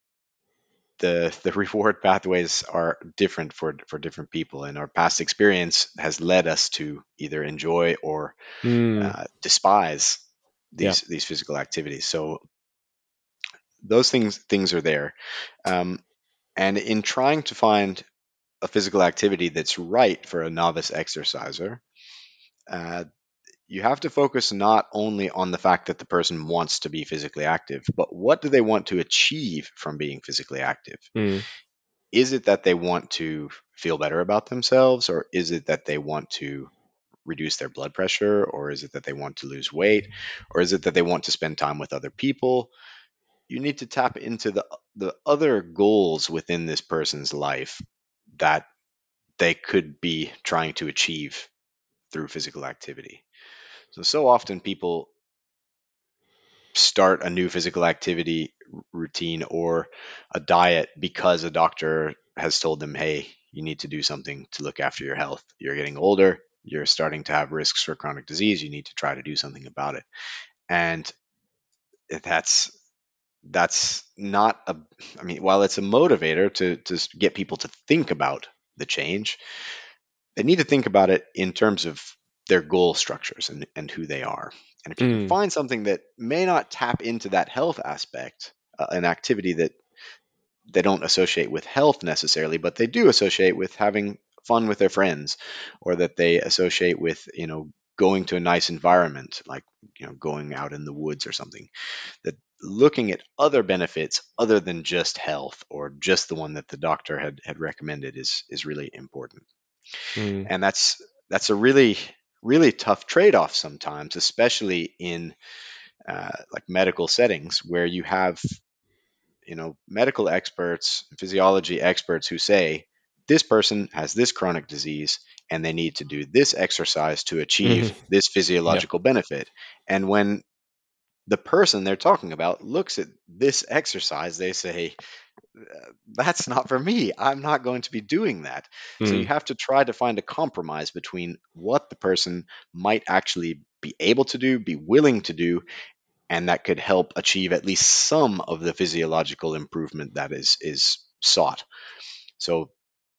the the reward pathways are different for for different people, and our past experience has led us to either enjoy or Mm, uh, despise yeah. these these physical activities. So those things things are there, um, and in trying to find a physical activity that's right for a novice exerciser, uh, you have to focus not only on the fact that the person wants to be physically active, but what do they want to achieve from being physically active? Mm. Is it that they want to feel better about themselves, or is it that they want to reduce their blood pressure, or is it that they want to lose weight, or is it that they want to spend time with other people? You need to tap into the the other goals within this person's life that they could be trying to achieve through physical activity. So so often people start a new physical activity routine or a diet because a doctor has told them, hey, you need to do something to look after your health. You're getting older, you're starting to have risks for chronic disease, you need to try to do something about it. And that's that's not a I mean, while it's a motivator to to get people to think about the change, they need to think about it in terms of their goal structures and, and who they are. And if you can Mm. find something that may not tap into that health aspect, uh, an activity that they don't associate with health necessarily, but they do associate with having fun with their friends, or that they associate with, you know, going to a nice environment, like, you know, going out in the woods or something, that looking at other benefits other than just health or just the one that the doctor had, had recommended is is really important. Mm. And that's that's a really really tough trade-off sometimes, especially in uh, like medical settings where you have, you know, medical experts, physiology experts who say this person has this chronic disease and they need to do this exercise to Mhm. achieve this Yeah. physiological benefit. And when the person they're talking about looks at this exercise, they say, that's not for me. I'm not going to be doing that. So you Mm. have to try to find a compromise between what the person might actually be able to do, be willing to do, and that could help achieve at least some of the physiological improvement that is is sought. So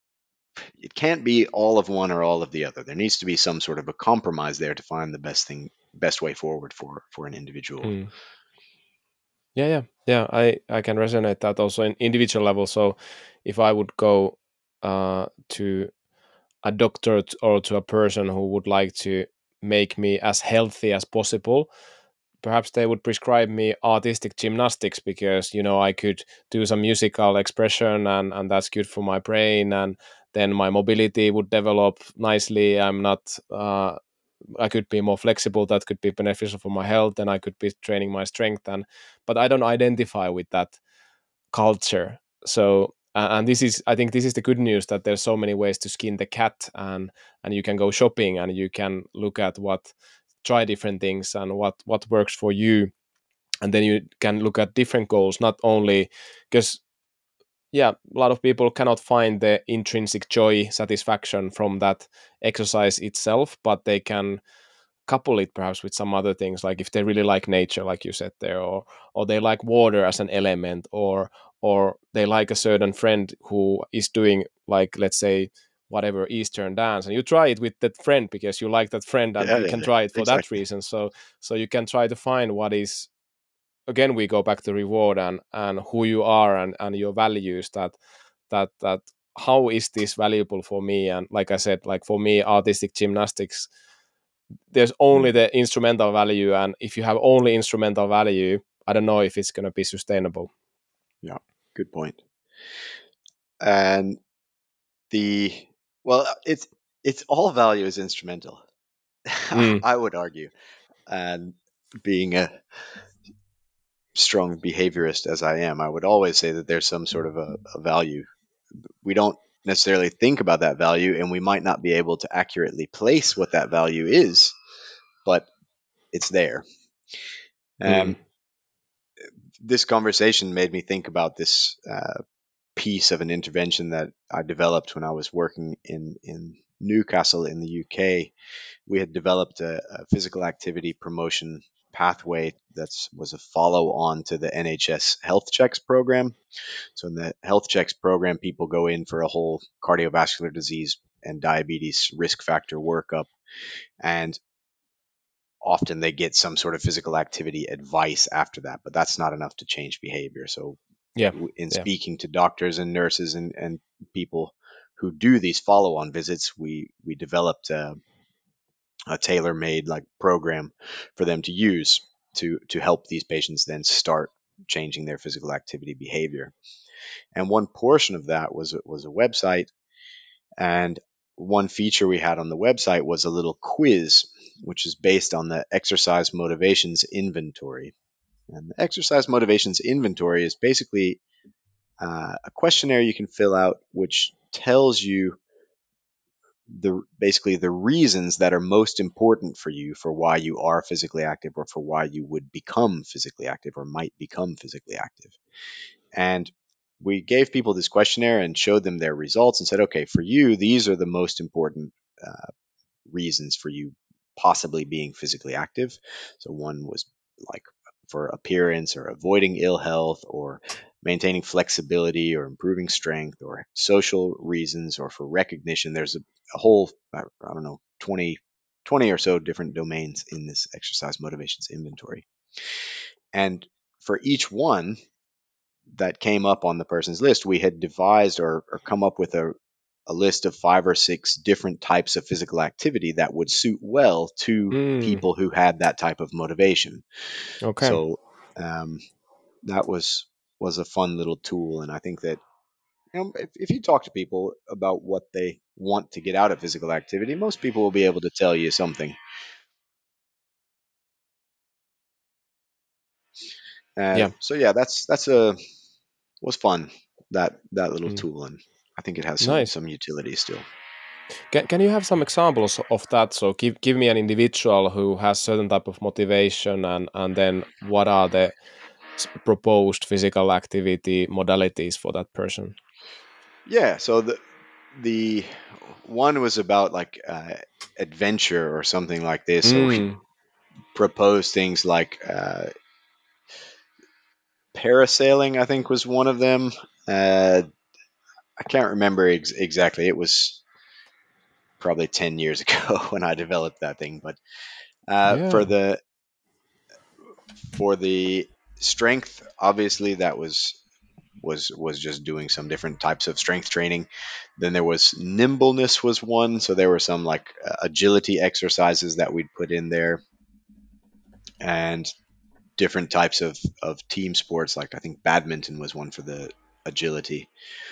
it can't be all of one or all of the other. There needs to be some sort of a compromise there to find the best thing, best way forward for for an individual. Mm. Yeah, yeah, yeah. I I can resonate that also in individual level. So if I would go uh, to a doctor t- or to a person who would like to make me as healthy as possible, perhaps they would prescribe me artistic gymnastics because you know I could do some musical expression and and that's good for my brain, and then my mobility would develop nicely. I'm not uh, I could be more flexible. That could be beneficial for my health, and I could be training my strength. And but I don't identify with that culture. So uh, and this is, I think, this is the good news that there's so many ways to skin the cat, and and you can go shopping and you can look at what try different things and what what works for you, and then you can look at different goals, not only because yeah, a lot of people cannot find the intrinsic joy satisfaction from that exercise itself, but they can couple it perhaps with some other things, like if they really like nature, like you said there, or or they like water as an element, or or they like a certain friend who is doing, like, let's say, whatever Eastern dance, and you try it with that friend because you like that friend and Yeah, you yeah, can yeah, try it for that exactly. reason. So so you can try to find what is, again, we go back to reward and and who you are, and and your values, that that that how is this valuable for me. And like I said, like for me, artistic gymnastics, there's only Mm, the instrumental value, and if you have only instrumental value, I don't know if it's going to be sustainable. yeah, good point. And the well, it's it's all value is instrumental. Mm. I would argue, and being a strong behaviorist as I am, I would always say that there's some sort of a, a value. We don't necessarily think about that value, and we might not be able to accurately place what that value is, but it's there. Mm. And this conversation made me think about this uh, piece of an intervention that I developed when I was working in in Newcastle in the U K. We had developed a, a physical activity promotion pathway that was a follow on to the N H S Health Checks program. So in the Health Checks program, people go in for a whole cardiovascular disease and diabetes risk factor workup, and often they get some sort of physical activity advice after that, but that's not enough to change behavior. So Yeah. in Yeah. speaking to doctors and nurses and, and people who do these follow-on visits, we we developed a, a tailor-made like program for them to use to to help these patients then start changing their physical activity behavior. And one portion of that was was a website, and one feature we had on the website was a little quiz, which is based on the exercise motivations inventory. And the exercise motivations inventory is basically uh, a questionnaire you can fill out, which tells you the basically the reasons that are most important for you for why you are physically active, or for why you would become physically active or might become physically active. And we gave people this questionnaire and showed them their results and said, okay, for you, these are the most important uh, reasons for you possibly being physically active. So one was like for appearance, or avoiding ill health, or maintaining flexibility, or improving strength, or social reasons, or for recognition. There's a, a whole, I, I don't know, twenty, twenty or so different domains in this exercise motivations inventory. And for each one that came up on the person's list, we had devised or, or come up with a, a list of five or six different types of physical activity that would suit well to Mm, people who had that type of motivation. okay. So um, that was was a fun little tool, and I think that, you know, if, if you talk to people about what they want to get out of physical activity, most people will be able to tell you something. Uh, Yeah. so yeah, that's that's a was fun, that that little Mm, tool, and I think it has some nice. some utility still. Can, can you have some examples of that? So give give me an individual who has certain type of motivation, and and then what are the s- proposed physical activity modalities for that person? Yeah, so the the one was about like uh, adventure or something like this. So we Mm, proposed things like uh, parasailing, I think was one of them. Uh, I can't remember ex- exactly. It was probably ten years ago when I developed that thing. But uh, for yeah. the for the strength, obviously that was was was just doing some different types of strength training. Then there was nimbleness was one, so there were some like uh, agility exercises that we'd put in there, and different types of of team sports, like I think badminton was one for the agility.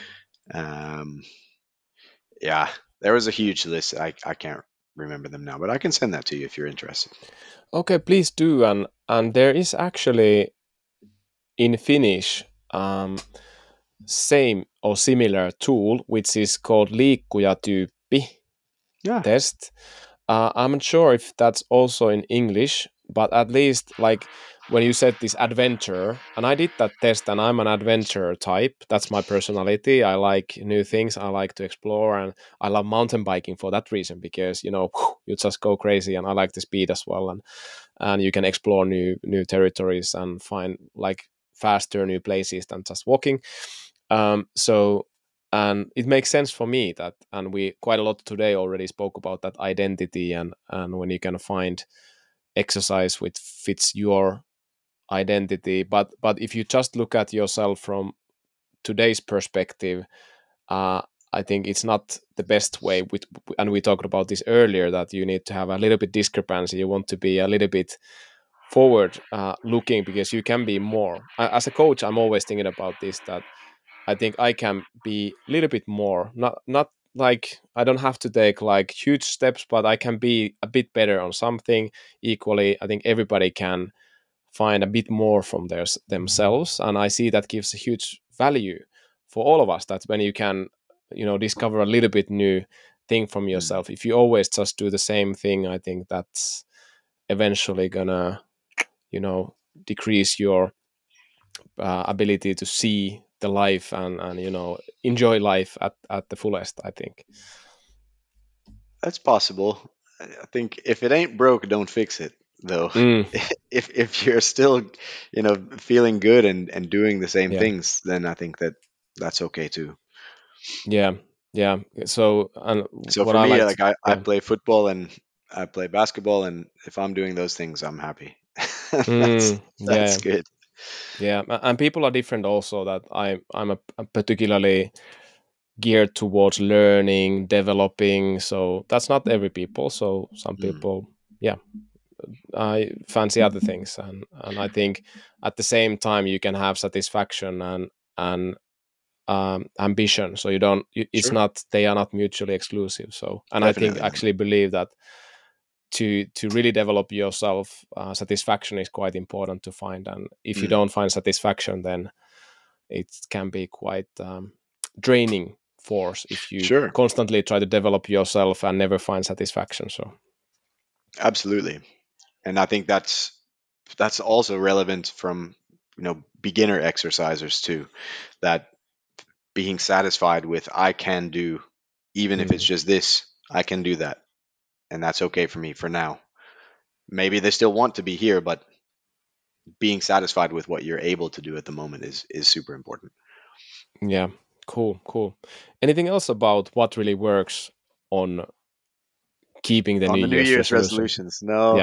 Um, yeah, there was a huge list. I I can't remember them now, but I can send that to you if you're interested. Okay, please do. And and there is actually in Finnish um, same or similar tool which is called liikkujatyyppi Yeah. test. Uh, I'm not sure if that's also in English, but at least like when you said this adventure, and I did that test, and I'm an adventure type. That's my personality. I like new things. I like to explore, and I love mountain biking for that reason because you know you just go crazy, and I like the speed as well, and and you can explore new new territories and find like faster new places than just walking. Um, so and it makes sense for me that, and we quite a lot today already spoke about that identity, and and when you can find exercise which fits your identity. but but if you just look at yourself from today's perspective, uh I think it's not the best way with, and we talked about this earlier, that you need to have a little bit discrepancy. You want to be a little bit forward uh, looking, because you can be more. As a coach, I'm always thinking about this, that I think I can be a little bit more. Not not like I don't have to take like huge steps, but I can be a bit better on something. Equally, I think everybody can find a bit more from their, themselves, and I see that gives a huge value for all of us. That when you can, you know, discover a little bit new thing from Mm. yourself. If you always just do the same thing, I think that's eventually gonna, you know, decrease your uh, ability to see the life, and and you know, enjoy life at at the fullest, I think. That's possible. I I think if it ain't broke, don't fix it, though. Mm, If if you're still, you know, feeling good and and doing the same yeah, things, then I think that that's okay too. yeah, yeah. So and So what for I me, like to, like I I yeah. play football and I play basketball, and if I'm doing those things, I'm happy. That's Mm, that's yeah, good. yeah. A- and people are different also. That I I'm a, a particularly geared towards learning, developing. So that's not every people. So some Mm. people, yeah, I fancy other things, and and I think at the same time you can have satisfaction and and um, ambition. So you don't. You, it's Sure. not. They are not mutually exclusive. So, and I think Definitely not. actually believe that to to really develop yourself, uh, satisfaction is quite important to find. And if you Mm. don't find satisfaction, then it can be quite um, draining force if you Sure. constantly try to develop yourself and never find satisfaction. So Absolutely. And I think that's that's also relevant from, you know, beginner exercisers too. That being satisfied with I can do, even if it's mm, just this, I can do that. And that's okay for me for now. Maybe they still want to be here, but being satisfied with what you're able to do at the moment is is super important. yeah, cool, cool. Anything else about what really works on keeping the On New the New Year's Year's resolution? resolutions, no, Yeah.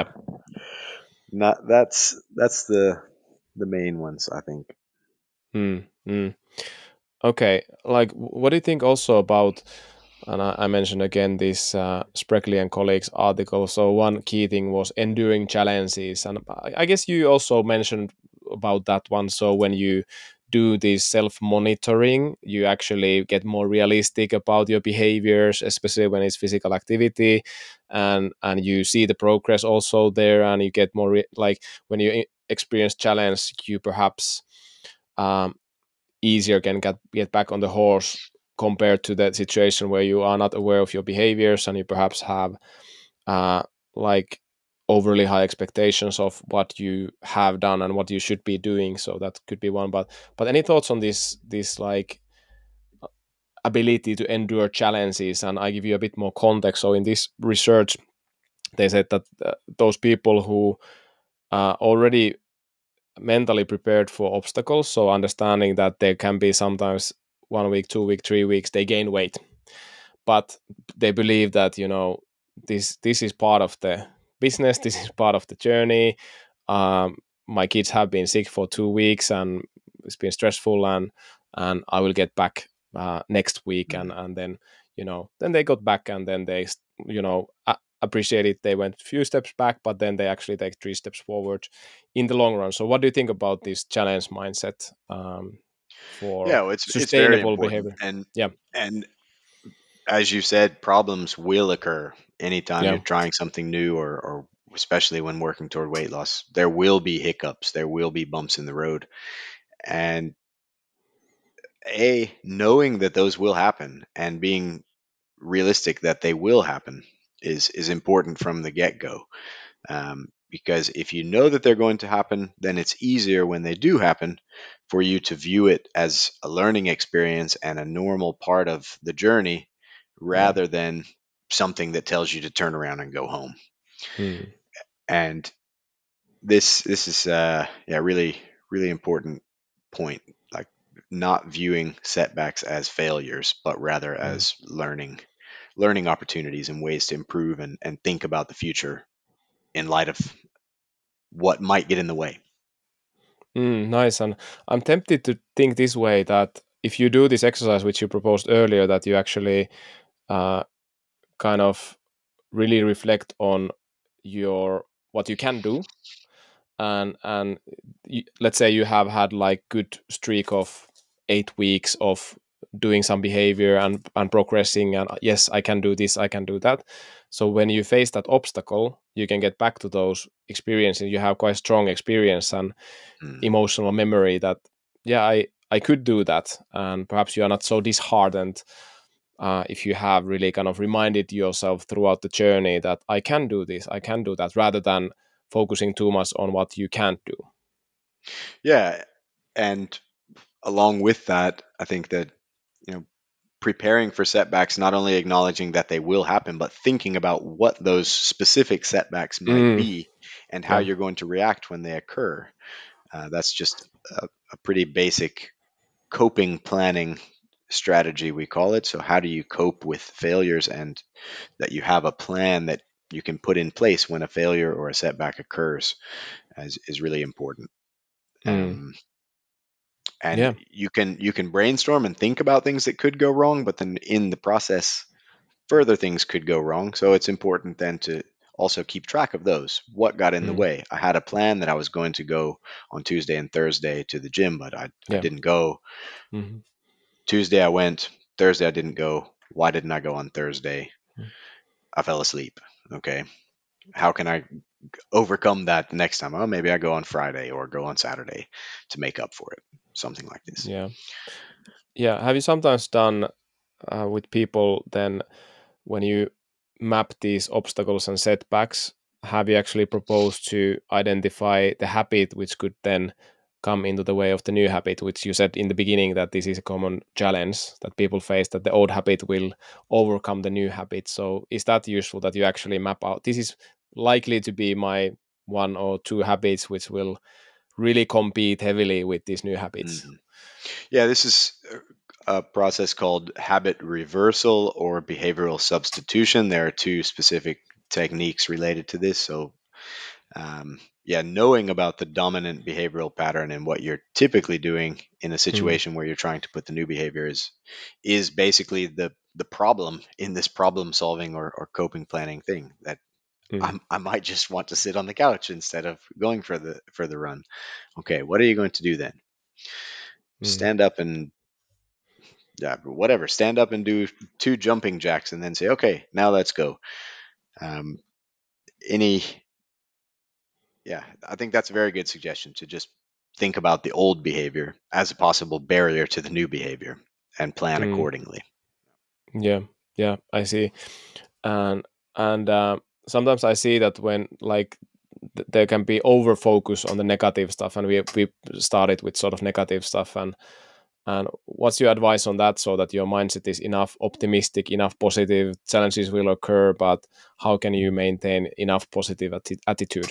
not that's that's the the main ones, I think. Mm, mm. Okay. Like, wh- what do you think also about? And I, I mentioned again this uh, Spreckley and colleagues article. So one key thing was enduring challenges, and I, I guess you also mentioned about that one. So when you do this self monitoring, you actually get more realistic about your behaviors, especially when it's physical activity, and and you see the progress also there, and you get more re- like when you e- experience challenge, you perhaps um, easier can get get back on the horse compared to that situation where you are not aware of your behaviors and you perhaps have uh, like overly high expectations of what you have done and what you should be doing. So that could be one. But but any thoughts on this this like ability to endure challenges? And I give you a bit more context. So in this research, they said that uh, those people who uh, already mentally prepared for obstacles, so understanding that there can be sometimes one week, two week, three weeks, they gain weight, but they believe that you know this this is part of the business, this is part of the journey. Um, my kids have been sick for two weeks, and it's been stressful, and and I will get back uh, next week, and Mm. and then you know then they got back, and then they you know a- appreciate it. They went a few steps back, but then they actually take three steps forward in the long run. So, what do you think about this challenge mindset um, Yeah, for well, it's it's very sustainable important. behavior? And Yeah, and as you said, problems will occur anytime you're yeah, trying something new, or or especially when working toward weight loss. There will be hiccups, there will be bumps in the road. And a knowing that those will happen and being realistic that they will happen is is important from the get-go. Um, because if you know that they're going to happen, then it's easier when they do happen for you to view it as a learning experience and a normal part of the journey, yeah. rather than something that tells you to turn around and go home. Hmm. And this this is uh yeah, really really important point, like not viewing setbacks as failures, but rather Mm. as learning learning opportunities and ways to improve, and, and think about the future in light of what might get in the way. Mm, nice. And I'm tempted to think this way that if you do this exercise, which you proposed earlier, that you actually uh, kind of really reflect on your what you can do, and and y- let's say you have had like good streak of eight weeks of doing some behavior and and progressing, and uh, yes, I can do this, I can do that. So when you face that obstacle, you can get back to those experiences. You have quite strong experience and Mm. emotional memory that yeah, i i could do that, and perhaps you are not so disheartened uh, if you have really kind of reminded yourself throughout the journey that I can do this, I can do that, rather than focusing too much on what you can't do. Yeah, and along with that, I think that, you know, preparing for setbacks, not only acknowledging that they will happen, but thinking about what those specific setbacks might Mm, be and how yeah. you're going to react when they occur. Uh, that's just a, a pretty basic coping planning strategy, we call it. So, how do you cope with failures, and that you have a plan that you can put in place when a failure or a setback occurs, is, is really important. Mm, Um, And Yeah. you can you can brainstorm and think about things that could go wrong, but then in the process further things could go wrong. So it's important then to also keep track of those. What got in the Mm. way? I had a plan that I was going to go on Tuesday and Thursday to the gym, but I, I Yeah. didn't go. Hmm. Tuesday I went, Thursday I didn't go. Why didn't I go on Thursday? I fell asleep. Okay. How can I overcome that the next time? Oh, maybe I go on Friday or go on Saturday to make up for it. Something like this. Yeah. Yeah. Have you sometimes done uh, with people then when you map these obstacles and setbacks, have you actually proposed to identify the habit which could then come into the way of the new habit, which you said in the beginning that this is a common challenge that people face, that the old habit will overcome the new habit. So is that useful that you actually map out this is likely to be my one or two habits which will really compete heavily with these new habits? Mhm. Yeah, this is a process called habit reversal or behavioral substitution. There are two specific techniques related to this. So, um, yeah, knowing about the dominant behavioral pattern and what you're typically doing in a Mm, situation where you're trying to put the new behavior is is basically the the problem in this problem solving or, or coping planning thing that mm, I'm, I might just want to sit on the couch instead of going for the for the run. Okay, what are you going to do then? mm, Stand up and yeah, whatever. Stand up and do two jumping jacks, and then say, okay, now let's go. Um, any, yeah, I think that's a very good suggestion to just think about the old behavior as a possible barrier to the new behavior and plan mm. accordingly. Yeah, yeah, I see. And and uh, sometimes I see that when like th- there can be over focus on the negative stuff, and we we started with sort of negative stuff. And and what's your advice on that, so that your mindset is enough optimistic, enough positive? Challenges will occur, but how can you maintain enough positive atti- attitude?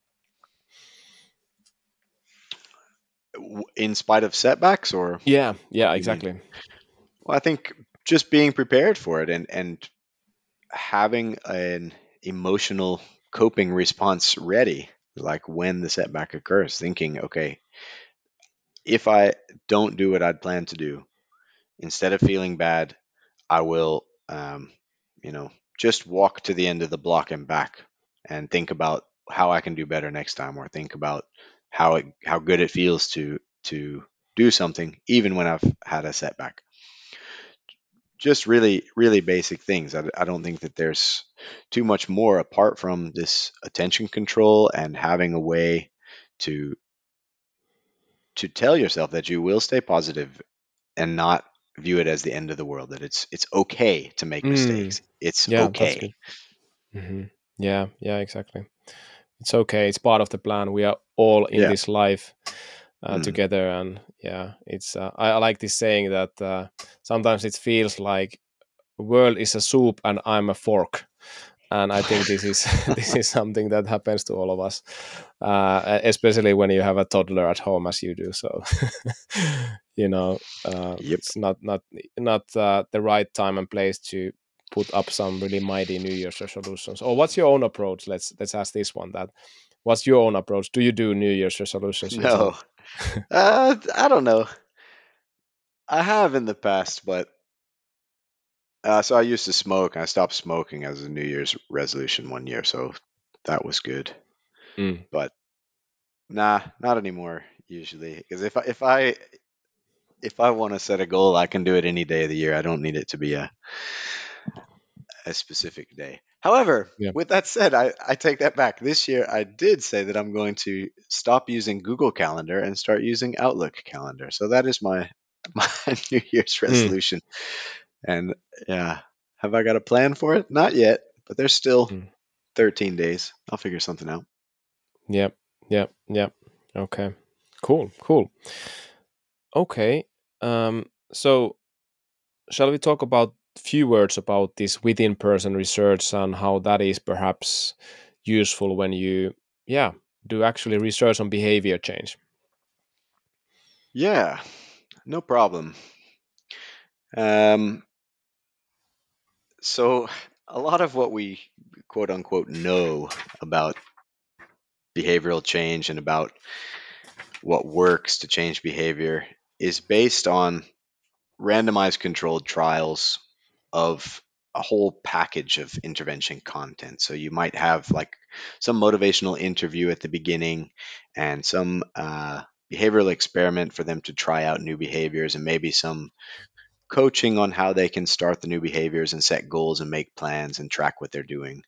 W- In spite of setbacks, or Yeah, what yeah, do you mean? exactly. Well, I think just being prepared for it and and having an emotional coping response ready, like when the setback occurs, thinking, okay, if I don't do what I'd planned to do, instead of feeling bad, I will, um, you know, just walk to the end of the block and back and think about how I can do better next time, or think about how it, how good it feels to to do something even when I've had a setback. Just really, really basic things. I, I don't think that there's too much more apart from this attention control and having a way to to tell yourself that you will stay positive and not view it as the end of the world, that it's it's okay to make Mm, mistakes. It's yeah, that's okay. good. Hmm. Yeah, yeah, exactly. It's okay. It's part of the plan. We are all in Yeah. this life uh, Mm. together, and yeah, it's. Uh, I, I like this saying that uh, sometimes it feels like the world is a soup and I'm a fork, and I think this is this is something that happens to all of us, uh, especially when you have a toddler at home as you do. So, you know, uh, Yep. it's not not not uh, the right time and place to put up some really mighty New Year's resolutions. Or what's your own approach? Let's let's ask this one. That what's your own approach? Do you do New Year's resolutions No. yourself? Uh, I don't know. I have in the past, but uh, so I used to smoke. I stopped smoking as a New Year's resolution one year, so that was good. Mm, But nah, not anymore. Usually, because if I, if I if I want to set a goal, I can do it any day of the year. I don't need it to be a a specific day. However, yeah. with that said, I, I take that back. This year, I did say that I'm going to stop using Google Calendar and start using Outlook Calendar. So that is my my New Year's Mm, resolution. And yeah, have I got a plan for it? Not yet, but there's still mm. thirteen days. I'll figure something out. Yeah. Yeah. Yeah. Okay. Cool. Cool. Okay. Um. So shall we talk about few words about this within person research and how that is perhaps useful when you yeah do actually research on behavior change? Yeah, no problem. Um, so a lot of what we quote unquote know about behavioral change and about what works to change behavior is based on randomized controlled trials of a whole package of intervention content. So you might have like some motivational interview at the beginning and some uh, behavioral experiment for them to try out new behaviors, and maybe some coaching on how they can start the new behaviors and set goals and make plans and track what they're doing.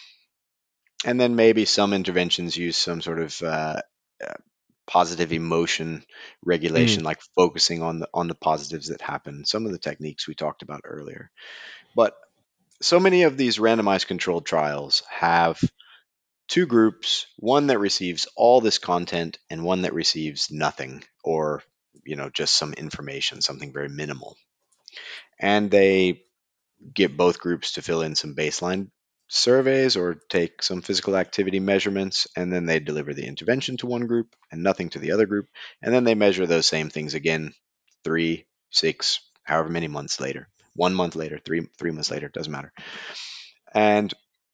And then maybe some interventions use some sort of uh, uh, positive emotion Mm. regulation, like focusing on the on the positives that happen. Some of the techniques we talked about earlier. But so many of these randomized controlled trials have two groups: one that receives all this content and one that receives nothing, or you know just some information, something very minimal. And they get both groups to fill in some baseline surveys or take some physical activity measurements, and then they deliver the intervention to one group and nothing to the other group. And then they measure those same things again three, six, however many months later. One month later, three three months later, doesn't matter. And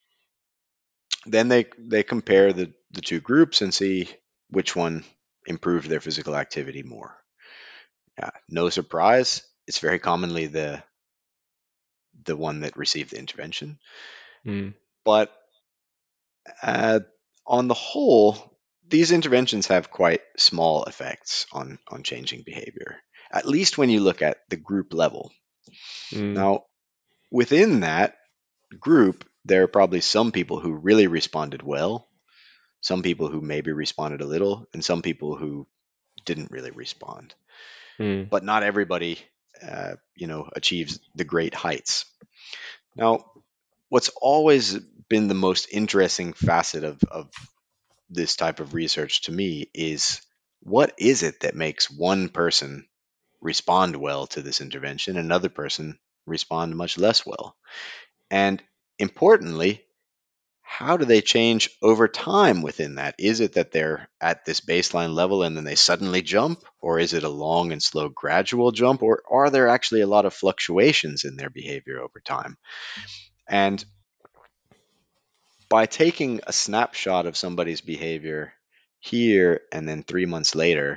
then they they compare the, the two groups and see which one improved their physical activity more. Yeah, no surprise, it's very commonly the the one that received the intervention. Mm. But Uh, on the whole, these interventions have quite small effects on, on changing behavior, at least when you look at the group level. Mm. Now, within that group, there are probably some people who really responded well, some people who maybe responded a little, and some people who didn't really respond. Mm. But not everybody, uh, you know, achieves the great heights. Now, what's always been the most interesting facet of, of this type of research to me is, what is it that makes one person respond well to this intervention and another person respond much less well? And importantly, how do they change over time within that? Is it that they're at this baseline level and then they suddenly jump? Or is it a long and slow gradual jump? Or are there actually a lot of fluctuations in their behavior over time? And by taking a snapshot of somebody's behavior here and then three months later,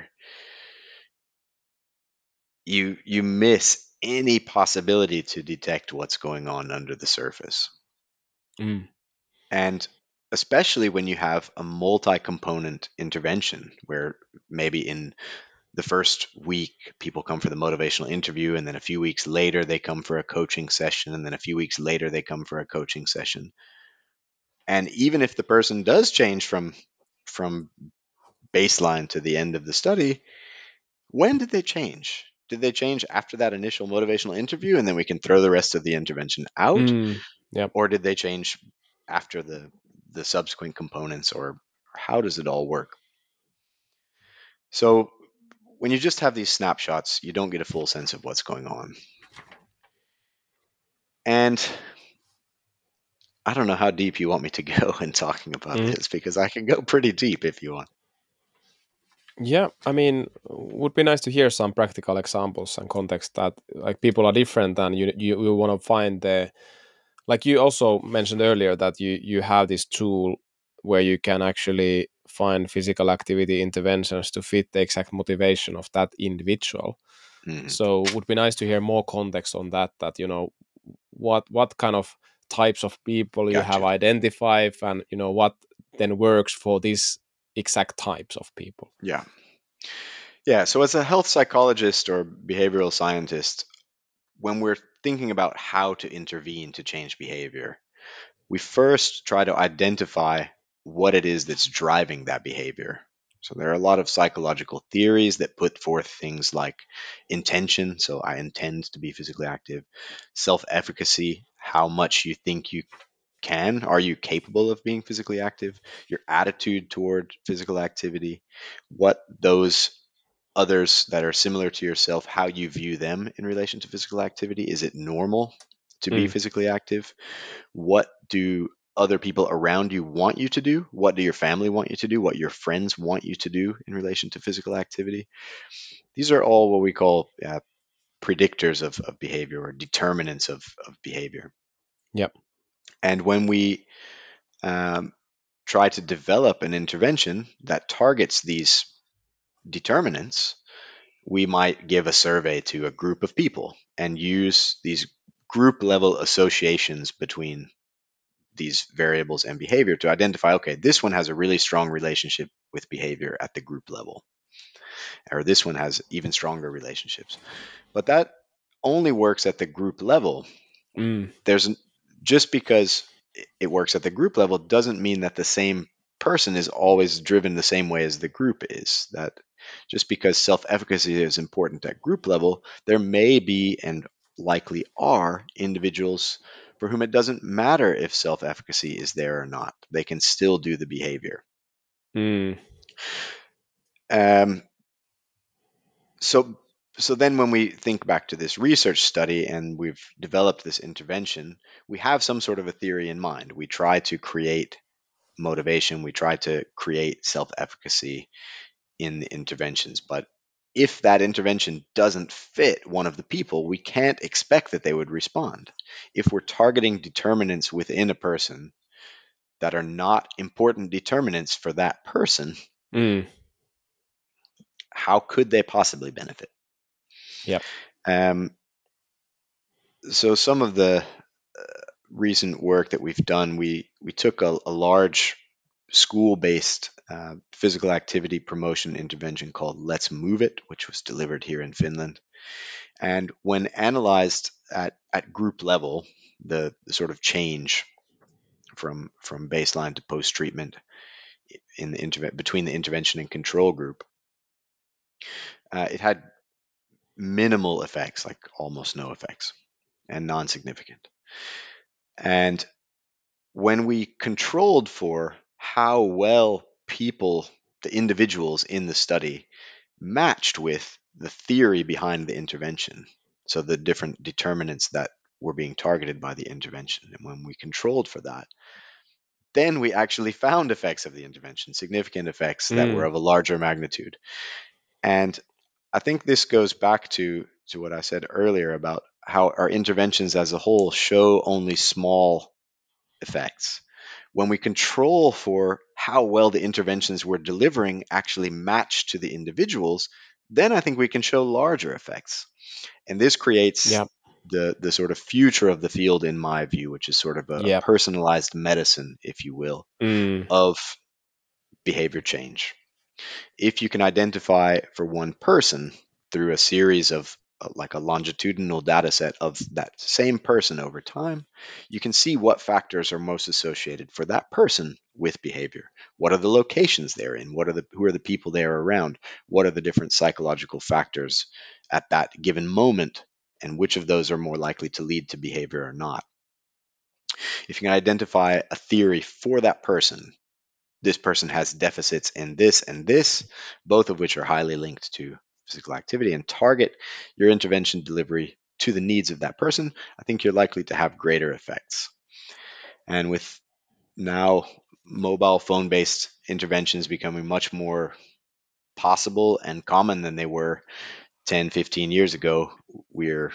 you you miss any possibility to detect what's going on under the surface. Mm. And especially when you have a multi-component intervention where maybe in the first week people come for the motivational interview, and then a few weeks later they come for a coaching session, and then a few weeks later they come for a coaching session. And even if the person does change from from baseline to the end of the study, when did they change? Did they change after that initial motivational interview and then we can throw the rest of the intervention out? Mm. Yep. Or did they change after the, the subsequent components? Or how does it all work? So when you just have these snapshots, you don't get a full sense of what's going on. And I don't know how deep you want me to go in talking about Mm. this, because I can go pretty deep if you want. Yeah, I mean, would be nice to hear some practical examples and context that like people are different, and you you, you want to find the, like you also mentioned earlier that you you have this tool where you can actually find physical activity interventions to fit the exact motivation of that individual. Mhm. So would be nice to hear more context on that, that you know what what kind of types of people you have Gotcha. identified, and you know what then works for these exact types of people. Yeah. Yeah. So, as a health psychologist or behavioral scientist, when we're thinking about how to intervene to change behavior, we first try to identify what it is that's driving that behavior. So there are a lot of psychological theories that put forth things like intention, so I intend to be physically active, self efficacy, how much you think you can, are you capable of being physically active, your attitude toward physical activity, what those others that are similar to yourself, how you view them in relation to physical activity. Is it normal to be Mm. physically active? What do other people around you want you to do? What do your family want you to do? What your friends want you to do in relation to physical activity? These are all what we call uh, predictors of, of behavior, or determinants of, of behavior. Yep. And when we um, try to develop an intervention that targets these determinants, we might give a survey to a group of people and use these group level associations between these variables and behavior to identify, okay, this one has a really strong relationship with behavior at the group level, or this one has even stronger relationships. But that only works at the group level. Mm. There's just because it works at the group level doesn't mean that the same person is always driven the same way as the group is. That just because self-efficacy is important at group level, there may be and likely are individuals for whom it doesn't matter if self-efficacy is there or not. They can still do the behavior. Mm. Um, so so then when we think back to this research study and we've developed this intervention, we have some sort of a theory in mind. We try to create motivation, we try to create self-efficacy in the interventions. But if that intervention doesn't fit one of the people, we can't expect that they would respond. If we're targeting determinants within a person that are not important determinants for that person, Mm. how could they possibly benefit? Yep. Um, so some of the uh, recent work that we've done, we we took a, a large school-based uh, physical activity promotion intervention called Let's Move It, which was delivered here in Finland. And when analyzed at, at group level, the, the sort of change from from baseline to post treatment in the interve- between the intervention and control group, uh, it had minimal effects, like almost no effects, and non-significant. And when we controlled for how well people, the individuals in the study, matched with the theory behind the intervention, so the different determinants that were being targeted by the intervention, and when we controlled for that, then we actually found effects of the intervention, significant effects that were Mm. of a larger magnitude. And I think this goes back to to what I said earlier about how our interventions as a whole show only small effects. When we control for how well the interventions we're delivering actually match to the individuals, then I think we can show larger effects. And this creates Yep. the the sort of future of the field in my view, which is sort of a, a Yep. personalized medicine, if you will, Mm. of behavior change. If you can identify for one person through a series of uh, like a longitudinal data set of that same person over time, you can see what factors are most associated for that person with behavior. What are the locations they're in? What are the who are the people they are around? What are the different psychological factors at that given moment? And which of those are more likely to lead to behavior or not? If you can identify a theory for that person, this person has deficits in this and this, both of which are highly linked to physical activity, and target your intervention delivery to the needs of that person, I think you're likely to have greater effects. And with now mobile phone based interventions becoming much more possible and common than they were ten, fifteen years ago, we're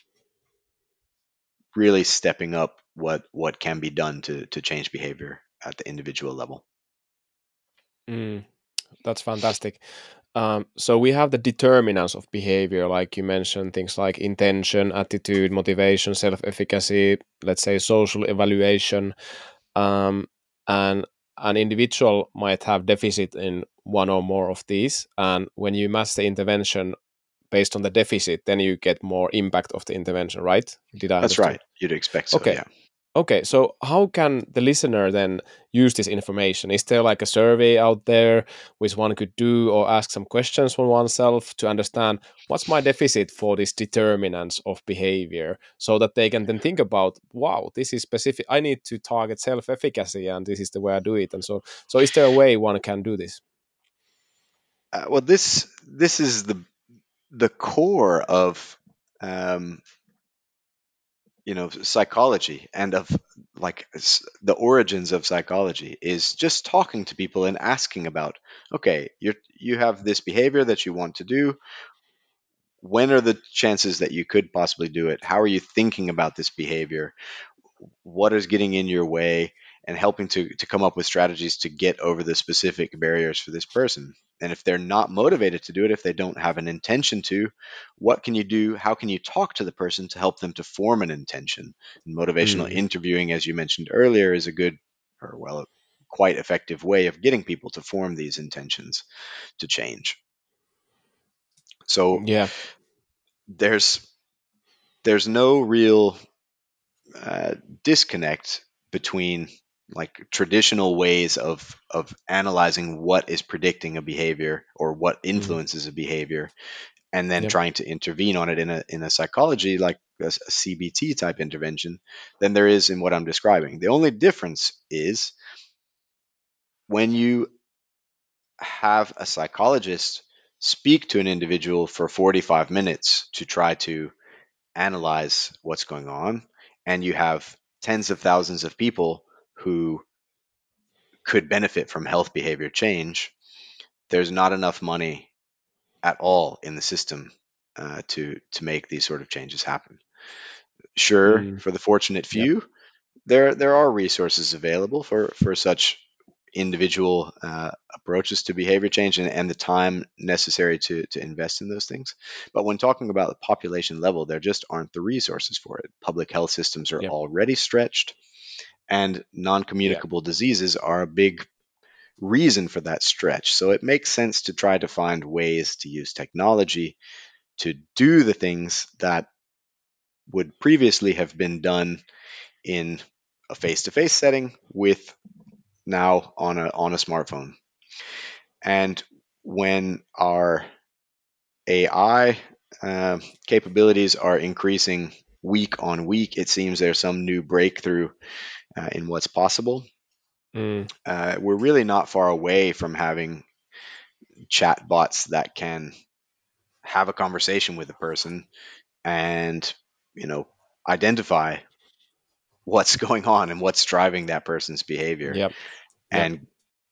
really stepping up what what can be done to to change behavior at the individual level. Mm. That's fantastic. Um, so we have the determinants of behavior, like you mentioned, things like intention, attitude, motivation, self-efficacy, let's say social evaluation, um, and an individual might have deficit in one or more of these. And when you match the intervention based on the deficit, then you get more impact of the intervention, right? Did I That's understand? right. You'd expect so, Okay. yeah. Okay, so how can the listener then use this information? Is there like a survey out there which one could do or ask some questions from oneself to understand what's my deficit for these determinants of behavior so that they can then think about, wow, this is specific. I need to target self-efficacy and this is the way I do it. And so, so is there a way one can do this? Uh, well, this this is the the core of um, you know psychology and of like s- the origins of psychology is just talking to people and asking about, okay, you you have this behavior that you want to do. When are the chances that you could possibly do it? How are you thinking about this behavior? What is getting in your way? and helping to to come up with strategies to get over the specific barriers for this person. And if they're not motivated to do it, if they don't have an intention to, what can you do? How can you talk to the person to help them to form an intention? And motivational Mm. interviewing, as you mentioned earlier, is a good, or well, quite effective way of getting people to form these intentions to change. So Yeah. there's there's no real uh, disconnect between like traditional ways of of analyzing what is predicting a behavior or what Mm. influences a behavior, and then Yep. trying to intervene on it in a in a psychology like a, a C B T type intervention than there is in what I'm describing. The only difference is when you have a psychologist speak to an individual for forty-five minutes to try to analyze what's going on, and you have tens of thousands of people who could benefit from health behavior change, there's not enough money at all in the system uh, to to make these sort of changes happen. Sure, Mm. for the fortunate Yep. few, there there are resources available for for such individual uh, approaches to behavior change, and, and the time necessary to to invest in those things. But when talking about the population level, there just aren't the resources for it. Public health systems are Yep. already stretched, and Yeah. non-communicable diseases are a big reason for that stretch. So it makes sense to try to find ways to use technology to do the things that would previously have been done in a face-to-face setting with now on a on a smartphone. And when our A I uh, capabilities are increasing week on week, it seems there's some new breakthrough uh, in what's possible. Mm. Uh, we're really not far away from having chatbots that can have a conversation with a person and, you know, identify what's going on and what's driving that person's behavior, Yep. Yep. and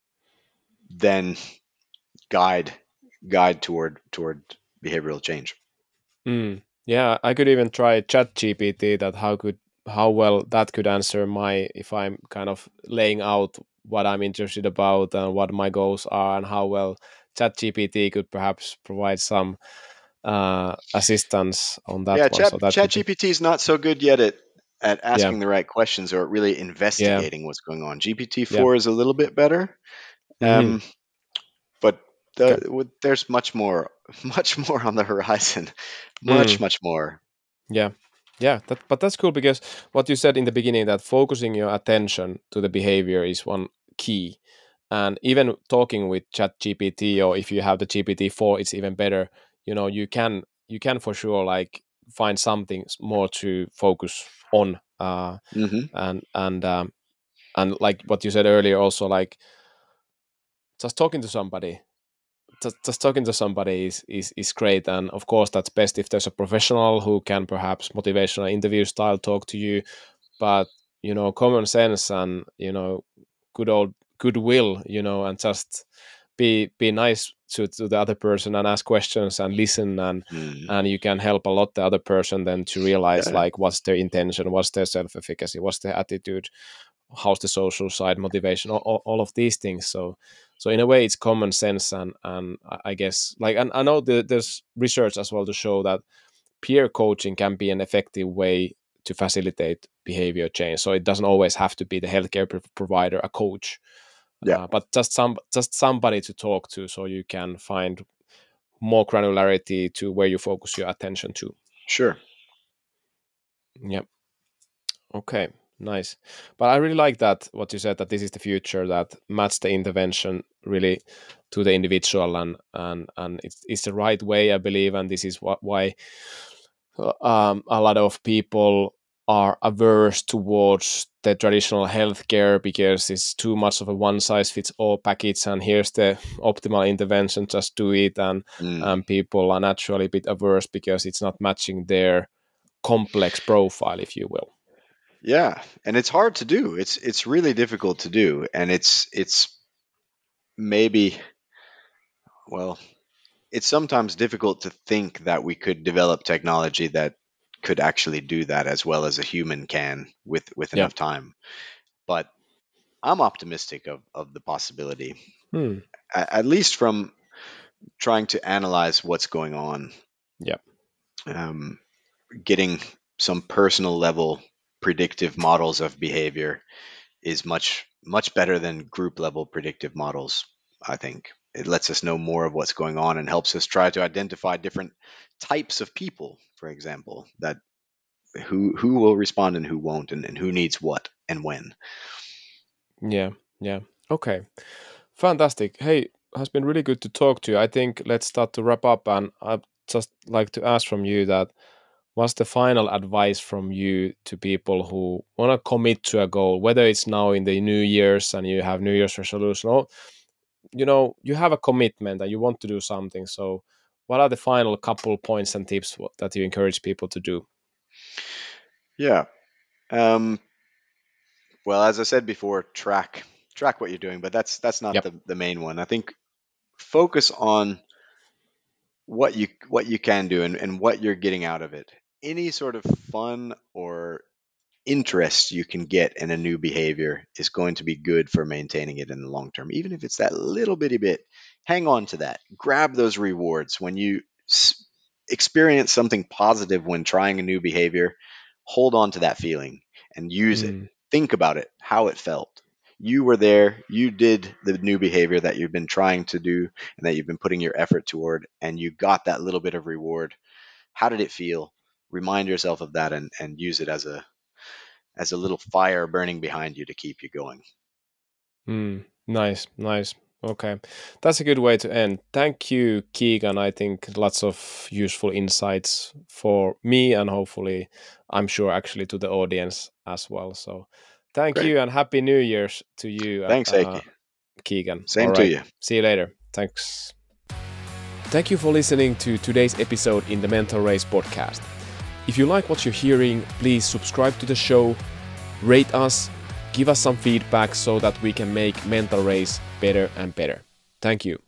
then guide guide toward toward behavioral change. Mm. Yeah, I could even try Chat G P T that how could how well that could answer my if I'm kind of laying out what I'm interested about and what my goals are and how well Chat G P T could perhaps provide some uh, assistance on that Yeah, one. chat So that chat could be gpt is not so good yet at at yeah, asking the right questions or really yeah, investigating what's going on. gpt yeah. four is a little bit better, Hmm. um but Okay. the, with- there's much more much more on the horizon, much Mm. much more. Yeah. Yeah, that, but that's cool because what you said in the beginning that focusing your attention to the behavior is one key. And even talking with Chat G P T or if you have the G P T four, it's even better. You know, you can you can for sure like find something s- more to focus on. Uh, Hmm. and and um, and like what you said earlier, also like just talking to somebody just, just talking to somebody is, is is great, and of course that's best if there's a professional who can perhaps motivational interview style talk to you. But you know, common sense and you know, good old goodwill, you know, and just be be nice to, to the other person and ask questions and listen, and Mm. and you can help a lot the other person then to realize Yeah, like what's their intention, what's their self-efficacy, what's their attitude, how's the social side, motivation, all, all, all of these things. So so in a way it's common sense, and and i I guess like, and I know that there's research as well to show that peer coaching can be an effective way to facilitate behavior change. So it doesn't always have to be the healthcare pro- provider, a coach, yeah, uh, but just some just somebody to talk to, so you can find more granularity to where you focus your attention to. sure. Yep. Okay. Nice. But I really like that what you said that this is the future that match the intervention really to the individual, and and and it's it's the right way I believe, and this is what why uh, um, a lot of people are averse towards the traditional healthcare because it's too much of a one size fits all package, and here's the optimal intervention, just do it, and Mm. and people are naturally a bit averse because it's not matching their complex profile, if you will. Yeah, and it's hard to do. It's it's really difficult to do, and it's it's maybe, well, it's sometimes difficult to think that we could develop technology that could actually do that as well as a human can with with Yeah. enough time. But I'm optimistic of, of the possibility, Hmm. at, at least from trying to analyze what's going on. Yeah. Um, getting some personal level predictive models of behavior is much much better than group level predictive models. I think it lets us know more of what's going on and helps us try to identify different types of people, for example, that who who will respond and who won't, and, and who needs what and when. Yeah. Yeah. Okay. Fantastic. Hey, has been really good to talk to you. I think let's start to wrap up, and I'd just like to ask from you that what's the final advice from you to people who want to commit to a goal, whether it's now in the New Year's and you have New Year's resolution, or you know you have a commitment and you want to do something. So, what are the final couple points and tips wh- that you encourage people to do? Yeah. Um, well, as I said before, track track what you're doing, but that's that's not Yep. the, the main one. I think focus on what you what you can do and, and what you're getting out of it. Any sort of fun or interest you can get in a new behavior is going to be good for maintaining it in the long term. Even if it's that little bitty bit, hang on to that. Grab those rewards when you s- experience something positive when trying a new behavior. Hold on to that feeling and use it. Mm, Think about it, how it felt. You were there, you did the new behavior that you've been trying to do and that you've been putting your effort toward, and you got that little bit of reward. How did it feel? Remind yourself of that and, and use it as a as a little fire burning behind you to keep you going. mm, nice, nice. Okay, that's a good way to end. Thank you, Keegan. I think lots of useful insights for me and hopefully, I'm sure, actually to the audience as well. So, thank Great. you and happy New Year's to you, uh, Thanks, uh, Heikki. Keegan. All Same to right, you. see you later. Thanks. Thank you for listening to today's episode in the Mental Race podcast. If you like what you're hearing, please subscribe to the show, rate us, give us some feedback so that we can make Mental Race better and better. Thank you.